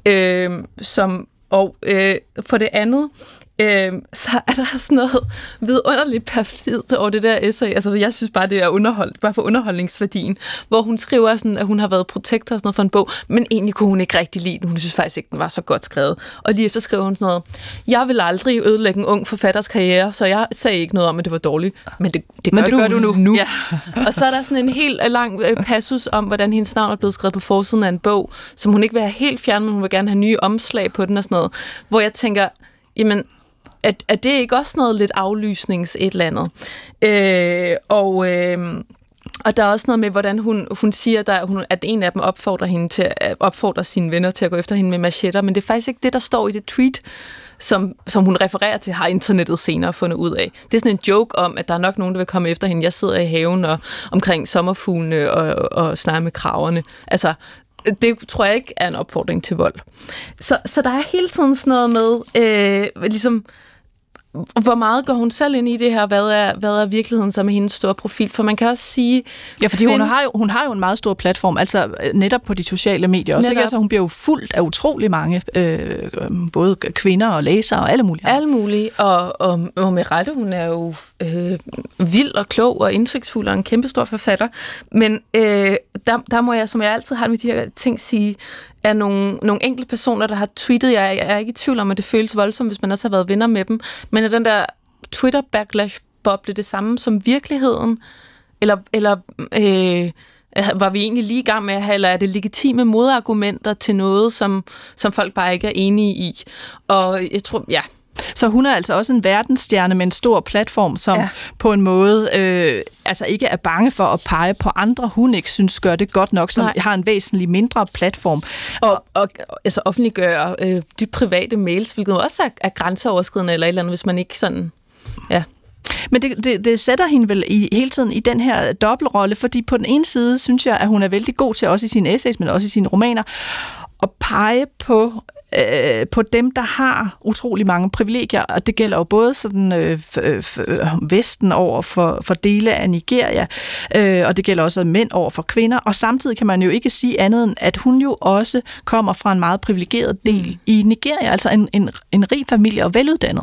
for det andet, så er der sådan noget vidunderligt perfidt over det der essay. Altså, jeg synes bare, det er bare for underholdningsværdien, hvor hun skriver sådan, at hun har været protektor og sådan noget for en bog, men egentlig kunne hun ikke rigtig lide den. Hun synes faktisk ikke, den var så godt skrevet. Og lige efter skriver hun sådan noget, jeg vil aldrig ødelægge en ung forfatters karriere, så jeg sagde ikke noget om, at det var dårligt. Men det gør du nu. Ja. Og så er der sådan en helt lang passus om, hvordan hendes navn er blevet skrevet på forsiden af en bog, som hun ikke vil have helt fjernet, men hun vil gerne have nye omslag på den og sådan noget. Hvor jeg tænker, jamen, er det ikke også noget lidt aflysnings et eller andet? Og der er også noget med, hvordan hun siger, at en af dem opfordrer sine venner til at gå efter hende med machetter, men det er faktisk ikke det, der står i det tweet, som hun refererer til, har internettet senere fundet ud af. Det er sådan en joke om, at der er nok nogen, der vil komme efter hende. Jeg sidder i haven og omkring sommerfuglene og snakker med kraverne. Altså, det tror jeg ikke er en opfordring til vold. Så der er hele tiden sådan noget med, ligesom, hvor meget går hun selv ind i det her? Hvad er virkeligheden som er hendes store profil? For man kan også sige... Ja, fordi hun har jo en meget stor platform, altså netop på de sociale medier. Også, ikke? Altså, hun bliver jo fuldt af utrolig mange, både kvinder og læsere og alle mulige. Alle mulige, og med rette, hun er jo vild og klog og indsigtsfuld og en kæmpestor forfatter. Men der må jeg, som jeg altid har med de her ting, sige, er nogle enkelte personer, der har tweetet. Jeg er ikke i tvivl om, at det føles voldsomt, hvis man også har været venner med dem. Men er den der Twitter-backlash-boble det samme som virkeligheden? Eller var vi egentlig lige i gang med at have, eller er det legitime modargumenter til noget, som folk bare ikke er enige i? Og jeg tror, ja... Så hun er altså også en verdensstjerne med en stor platform, som på en måde altså ikke er bange for at pege på andre, hun ikke synes gør det godt nok, som har en væsentlig mindre platform. Og altså offentliggøre de private mails, hvilket også er grænseoverskridende eller et eller andet, hvis man ikke sådan... Ja. Men det sætter hende vel hele tiden i den her dobbeltrolle, fordi på den ene side synes jeg, at hun er vældig god til, også i sine essays, men også i sine romaner, at pege på dem, der har utrolig mange privilegier, og det gælder jo både sådan Vesten over for dele af Nigeria, og det gælder også mænd over for kvinder, og samtidig kan man jo ikke sige andet end, at hun jo også kommer fra en meget privilegeret del i Nigeria, altså en rig familie og veluddannet.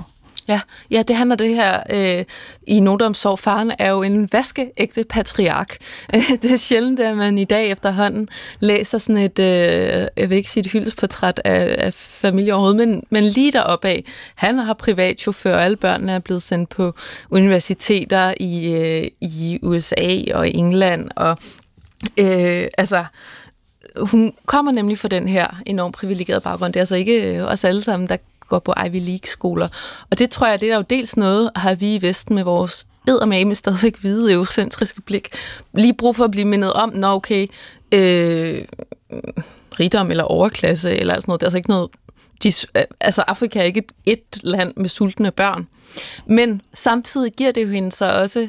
Ja, det handler det her i Noteomsorg. Faren er jo en vaskeægte patriark. Det er sjældent, at man i dag efterhånden læser sådan et, jeg vil ikke sige et hyldesportræt af familie overhovedet, men lige deroppe af. Han har privatchauffør, og alle børnene er blevet sendt på universiteter i USA og England, og hun kommer nemlig fra den her enormt privilegerede baggrund. Det er altså ikke os alle sammen, der går på Ivy League-skoler. Og det tror jeg, det er jo dels noget, har vi i Vesten med vores eddermame stadigvæk hvide eurocentriske blik lige brug for at blive mindet om, når okay, rigdom eller overklasse eller sådan noget, det er altså ikke noget, Afrika er ikke et land med sultne børn. Men samtidig giver det jo hende så også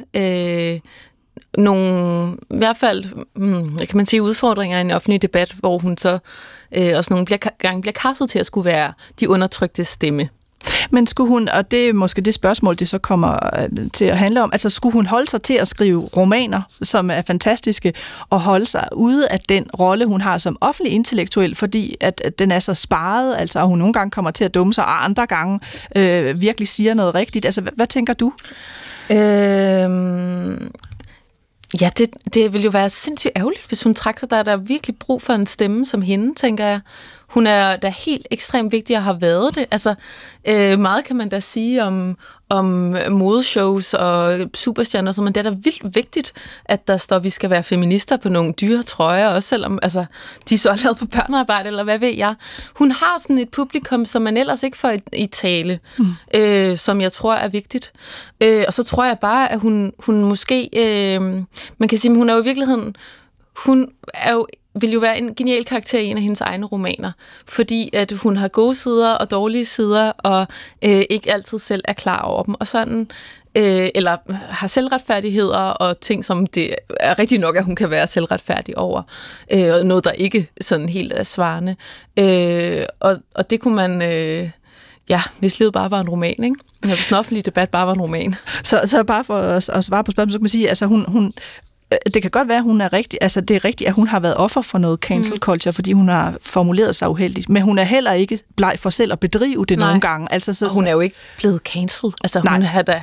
nogle, i hvert fald, kan man sige, udfordringer i en offentlig debat, hvor hun så også nogle gange bliver kastet til at skulle være de undertrykte stemme. Men skulle hun, og det er måske det spørgsmål, det så kommer til at handle om, altså skulle hun holde sig til at skrive romaner, som er fantastiske, og holde sig ude af den rolle, hun har som offentlig intellektuel, fordi at den er så sparet, altså hun nogle gange kommer til at dumme sig, og andre gange virkelig siger noget rigtigt. Altså, hvad tænker du? Ja, det vil jo være sindssygt ærgerligt, hvis hun trak sig. Der er virkelig brug for en stemme som hende, tænker jeg. Hun er da helt ekstremt vigtig at have været det. Altså, meget kan man da sige om modeshows og superstjerner, men det er da vildt vigtigt, at der står, at vi skal være feminister på nogle dyre trøjer, også selvom de så er lavet på børnearbejde, eller hvad ved jeg. Hun har sådan et publikum, som man ellers ikke får i tale, som jeg tror er vigtigt. Og så tror jeg bare, at hun måske, man kan sige, hun er jo i virkeligheden, hun er jo vil jo være en genial karakter i en af hendes egne romaner, fordi at hun har gode sider og dårlige sider, og ikke altid selv er klar over dem, og sådan, eller har selvretfærdigheder og ting, som det er rigtig nok, at hun kan være selvretfærdig over, og noget, der ikke sådan helt er svarende. Og det kunne man... hvis livet bare var en roman, ikke? Hvis den offentlige debat bare var en roman. Så bare for at svare på spørgsmålet, så kan man sige, altså hun det kan godt være, at hun er rigtig, altså det er rigtigt, at hun har været offer for noget cancel culture, fordi hun har formuleret sig uheldigt, men hun er heller ikke bleg for selv at bedrive det nogle gange. Altså, så, og hun er jo ikke blevet cancelled. Altså hun har da...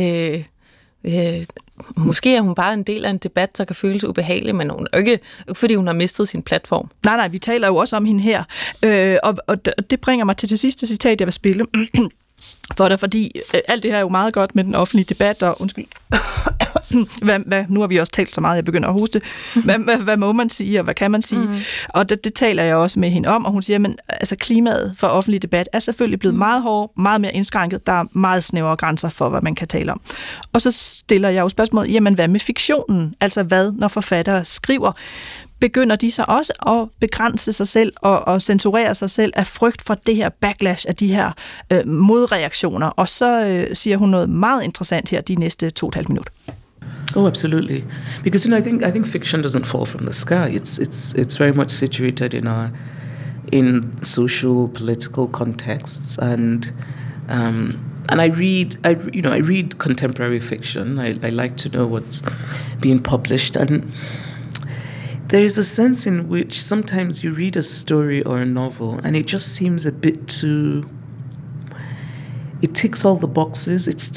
måske er hun bare en del af en debat, der kan føles ubehagelig, men hun er ikke, fordi hun har mistet sin platform. Nej, vi taler jo også om hende her. Og det bringer mig til det sidste citat, jeg vil spille for dig, fordi alt det her er jo meget godt med den offentlige debat, og undskyld, nu har vi også talt så meget, jeg begynder at hoste. Hvad må man sige, og hvad kan man sige? Og det taler jeg også med hende om, og hun siger, men altså klimaet for offentlig debat er selvfølgelig blevet meget hårdt, meget mere indskrænket, der er meget snævre grænser for, hvad man kan tale om. Og så stiller jeg jo spørgsmålet, jamen hvad med fiktionen? Altså hvad, når forfattere skriver? Begynder de så også at begrænse sig selv og censurere sig selv af frygt for det her backlash af de her modreaktioner? Og så siger hun noget meget interessant her de næste 2,5 minutter. Oh, absolutely. Because I think fiction doesn't fall from the sky. It's very much situated in social, political contexts, and I read contemporary fiction. I like to know what's being published, and there is a sense in which sometimes you read a story or a novel and it just seems a bit too... It ticks all the boxes. It's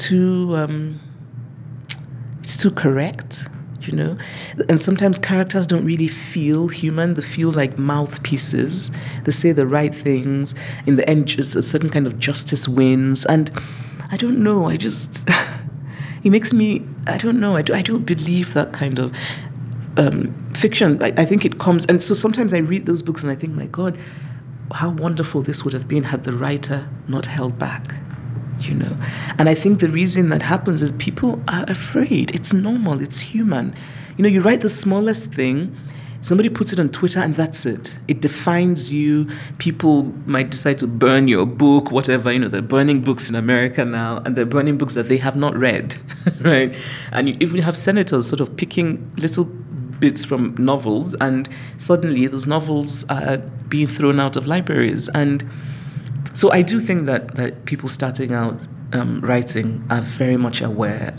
too correct, you know? And sometimes characters don't really feel human. They feel like mouthpieces. They say the right things. In the end, just a certain kind of justice wins. And I don't know, it makes me... I don't know, I don't believe that kind of... fiction. I think it comes, and so sometimes I read those books and I think, my God, how wonderful this would have been had the writer not held back, you know. And I think the reason that happens is people are afraid. It's normal, it's human. You know, you write the smallest thing, somebody puts it on Twitter and that's it. It defines you. People might decide to burn your book, whatever. You know, they're burning books in America now, and they're burning books that they have not read, right? And you even have senators sort of picking little bits from novels, and suddenly those novels are being thrown out of libraries. And so I do think that people starting out writing are very much aware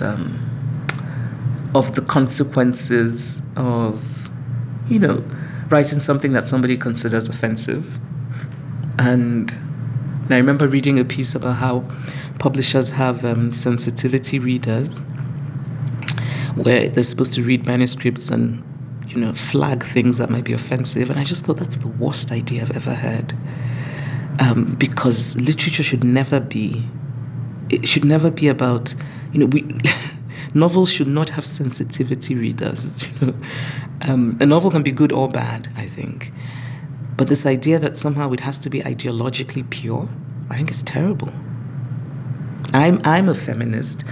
of the consequences of, you know, writing something that somebody considers offensive. And I remember reading a piece about how publishers have sensitivity readers, where they're supposed to read manuscripts and, flag things that might be offensive. And I just thought that's the worst idea I've ever heard. Because literature should never be about, novels should not have sensitivity readers. A novel can be good or bad, I think. But this idea that somehow it has to be ideologically pure, I think is terrible. I'm a feminist.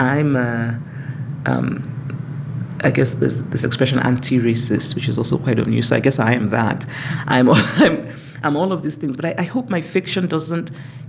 I guess there's this expression anti-racist, which is also quite unused. So I guess I am that. I'm all of these things. But I hope my fiction doesn't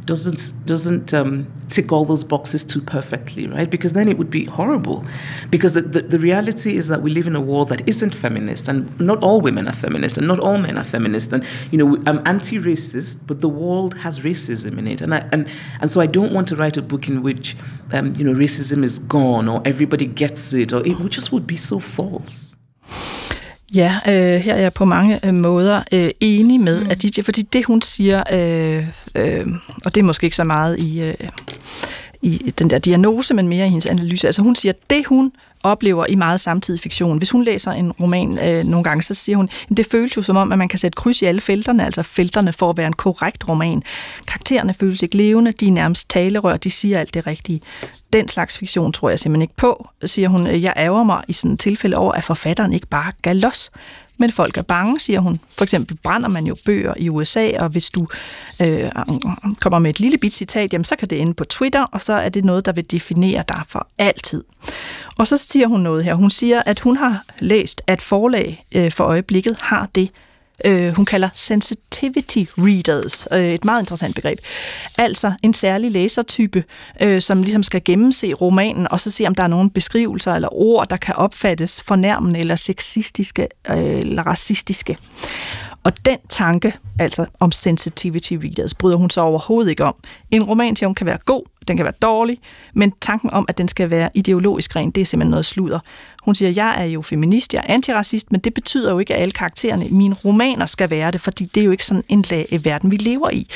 tick all those boxes too perfectly, right? Because then it would be horrible. Because the reality is that we live in a world that isn't feminist, and not all women are feminist, and not all men are feminist. And I'm anti-racist, but the world has racism in it, and so I don't want to write a book in which racism is gone or everybody gets it, or it just would be so false. Ja, her er jeg på mange måder enig med Aditya, fordi det hun siger, og det er måske ikke så meget i den der diagnose, men mere i hendes analyse. Altså hun siger, at det hun oplever i meget samtidig fiktion. Hvis hun læser en roman nogle gange, så siger hun, at det føles jo som om, at man kan sætte kryds i alle felterne, altså felterne for at være en korrekt roman. Karaktererne føles ikke levende, de er nærmest talerør, de siger alt det rigtige. Den slags fiktion tror jeg simpelthen ikke på, siger hun. Jeg ærger mig i sådan et tilfælde over, at forfatteren ikke bare gav los. Men folk er bange, siger hun. For eksempel brænder man jo bøger i USA, og hvis du kommer med et lille bit citat, jamen, så kan det ende på Twitter, og så er det noget, der vil definere dig for altid. Og så siger hun noget her. Hun siger, at hun har læst, at forlag for øjeblikket har det, hun kalder sensitivity readers, et meget interessant begreb. Altså en særlig læsertype, som ligesom skal gennemse romanen, og så se, om der er nogle beskrivelser eller ord, der kan opfattes fornærmende eller sexistiske eller racistiske. Og den tanke, altså om sensitivity readers, bryder hun så overhovedet ikke om. En roman, siger hun, kan være god, den kan være dårlig, men tanken om, at den skal være ideologisk ren, det er simpelthen noget sludder. Hun siger, jeg er jo feminist, jeg er antiracist, men det betyder jo ikke, at alle karaktererne i mine romaner skal være det, fordi det er jo ikke sådan en verden, vi lever i.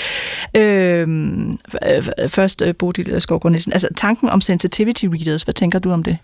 Først Bodil Skovgaard Nielsen. Altså tanken om sensitivity readers, hvad tænker du om det?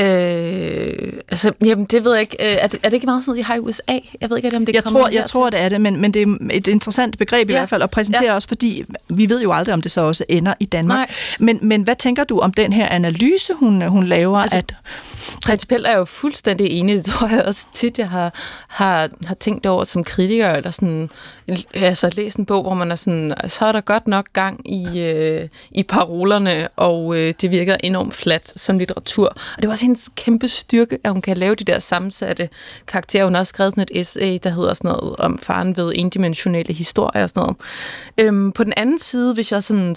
Jamen, det ved jeg ikke. Er det ikke meget sådan, de har i USA? Jeg ved ikke, om det jeg tror, det er det, men det er et interessant begreb i hvert fald at præsentere også, fordi vi ved jo aldrig, om det så også ender i Danmark. Men hvad tænker du om den her analyse, hun laver? Altså, principielt er jeg jo fuldstændig enig. Det tror jeg også tit, jeg har tænkt over som kritiker, eller sådan, altså læst en bog, hvor man er sådan, så er der godt nok gang i parolerne, og det virker enormt fladt som litteratur. Og det var også hendes kæmpe styrke, at hun kan lave de der sammensatte karakterer. Hun har også skrevet sådan et essay, der hedder sådan noget om faren ved endimensionelle historier og sådan noget. På den anden side, hvis jeg sådan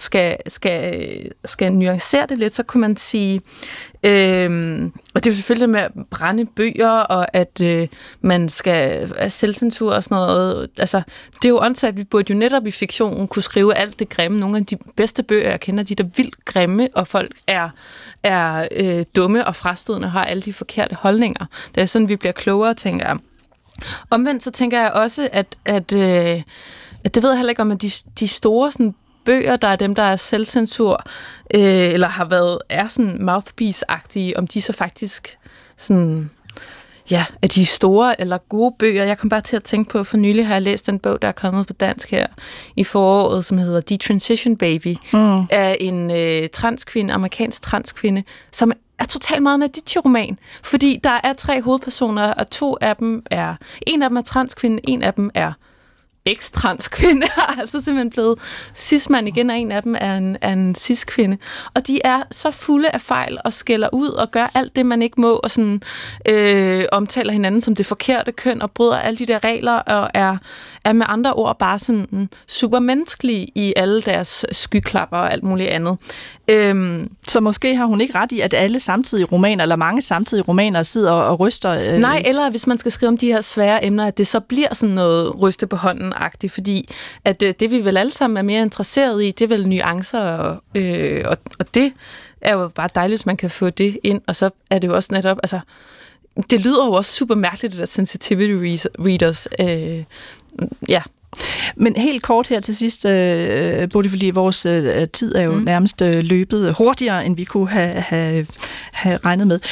skal nuancere det lidt, så kunne man sige, og det er jo selvfølgelig med at brænde bøger, og at man skal selvcensur og sådan noget. Altså, det er jo åndssagt, vi burde jo netop i fiktionen kunne skrive alt det grimme. Nogle af de bedste bøger, jeg kender, de der vildt grimme, og folk er dumme og frastødende og har alle de forkerte holdninger. Det er sådan, vi bliver klogere, tænker jeg. Omvendt så tænker jeg også, at det ved jeg heller ikke om, at de store sådan, bøger, der er dem, der er selvcensur, eller er sådan mouthpiece-agtige, om de så faktisk sådan, ja, er de store eller gode bøger. Jeg kom bare til at tænke på, for nylig har jeg læst en bog, der er kommet på dansk her i foråret, som hedder Detransition Baby, af en transkvinde, amerikansk transkvinde, som er totalt meget en Aditya-roman, fordi der er 3 hovedpersoner, og en af dem er transkvinde, en af dem er ekstrans-kvinde, altså simpelthen blevet cis-mand igen, og en af dem er en cis-kvinde. Og de er så fulde af fejl og skælder ud og gør alt det, man ikke må, og sådan omtaler hinanden som det forkerte køn og bryder alle de der regler, og er med andre ord bare sådan supermenneskelige i alle deres skyklapper og alt muligt andet. Så måske har hun ikke ret i, at alle samtidige romaner, eller mange samtidige romaner, sidder og ryster... Nej, eller hvis man skal skrive om de her svære emner, at det så bliver sådan noget ryste på hånden-agtigt, fordi at det vi vel alle sammen er mere interesseret i, det er vel nuancer, og det er jo bare dejligt, hvis man kan få det ind, og så er det jo også netop... Altså, det lyder jo også super mærkeligt, det der sensitivity readers. Ja. Men helt kort her til sidst, både fordi vores tid er jo nærmest løbet hurtigere, end vi kunne have regnet med.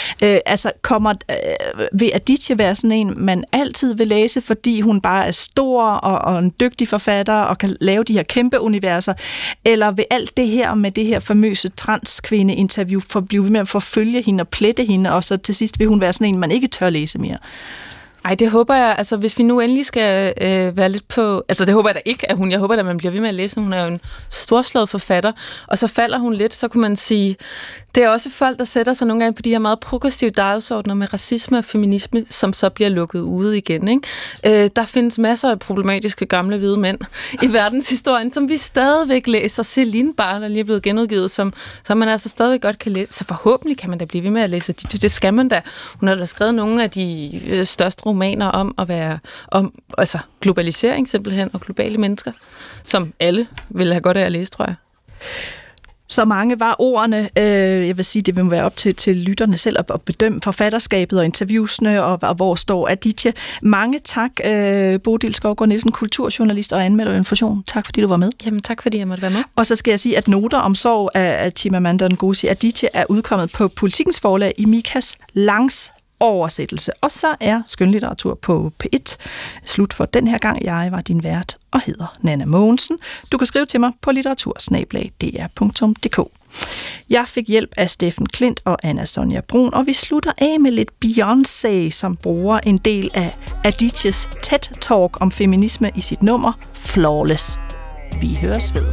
Vil Aditya være sådan en, man altid vil læse, fordi hun bare er stor og en dygtig forfatter og kan lave de her kæmpe universer, eller vil alt det her med det her famøse transkvinde-interview blive ved med at forfølge hende og plette hende, og så til sidst vil hun være sådan en, man ikke tør læse mere? Ej, det håber jeg, altså hvis vi nu endelig skal være lidt på, altså det håber jeg da ikke, at jeg håber da, at man bliver ved med at læse, hun er jo en storslået forfatter, og så falder hun lidt, så kunne man sige, det er også folk, der sætter sig nogle gange på de her meget progressive dagsordner med racisme og feminisme, som så bliver lukket ude igen, ikke? Der findes masser af problematiske gamle hvide mænd i verdenshistorien, som vi stadigvæk læser. Celine Barr, der lige er blevet genudgivet, som man altså stadigvæk godt kan læse, så forhåbentlig kan man da blive ved med at læse. Det skal man da. Hun har da skrevet nogle af de største romaner om globalisering simpelthen, og globale mennesker, som alle vil have godt af at læse, tror jeg. Så mange var ordene. Jeg vil sige, det vil være op til lytterne selv at bedømme forfatterskabet og interviewsene, og hvor står Aditya. Mange tak, Bodil Skovgaard Nielsen, kulturjournalist og anmelder og information. Tak, fordi du var med. Jamen, tak, fordi jeg måtte være med. Og så skal jeg sige, at Noter om sorg af Chimamanda Ngozi Adichie er udkommet på Politikens forlag i Mikas Langs oversættelse. Og så er skønlitteratur på P1 slut for den her gang. Jeg var din vært og hedder Nanna Mogensen. Du kan skrive til mig på litteratur@dr.dk. Jeg fik hjælp af Steffen Klint og Anna Sonja Brun, og vi slutter af med lidt Beyoncé, som bruger en del af Adityes TED-talk om feminisme i sit nummer Flawless. Vi høres ved.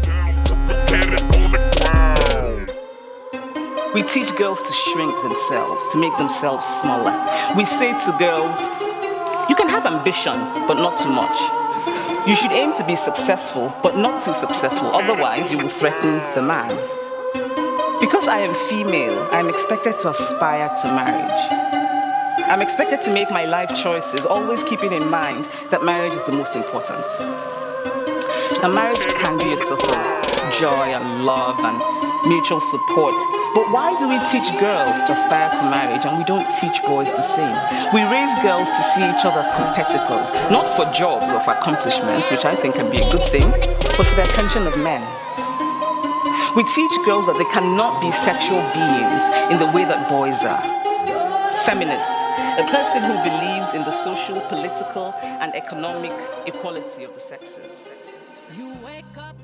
We teach girls to shrink themselves, to make themselves smaller. We say to girls, you can have ambition, but not too much. You should aim to be successful, but not too successful, otherwise you will threaten the man. Because I am female, I'm expected to aspire to marriage. I'm expected to make my life choices, always keeping in mind that marriage is the most important. Now, marriage can be a source of joy and love and mutual support. But why do we teach girls to aspire to marriage and we don't teach boys the same? We raise girls to see each other as competitors, not for jobs or for accomplishments, which I think can be a good thing, but for the attention of men. We teach girls that they cannot be sexual beings in the way that boys are. Feminist, a person who believes in the social, political, and economic equality of the sexes. You wake up.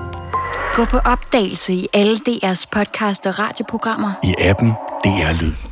Gå på opdagelse i alle DR's podcast og radioprogrammer. I appen DR Lyd.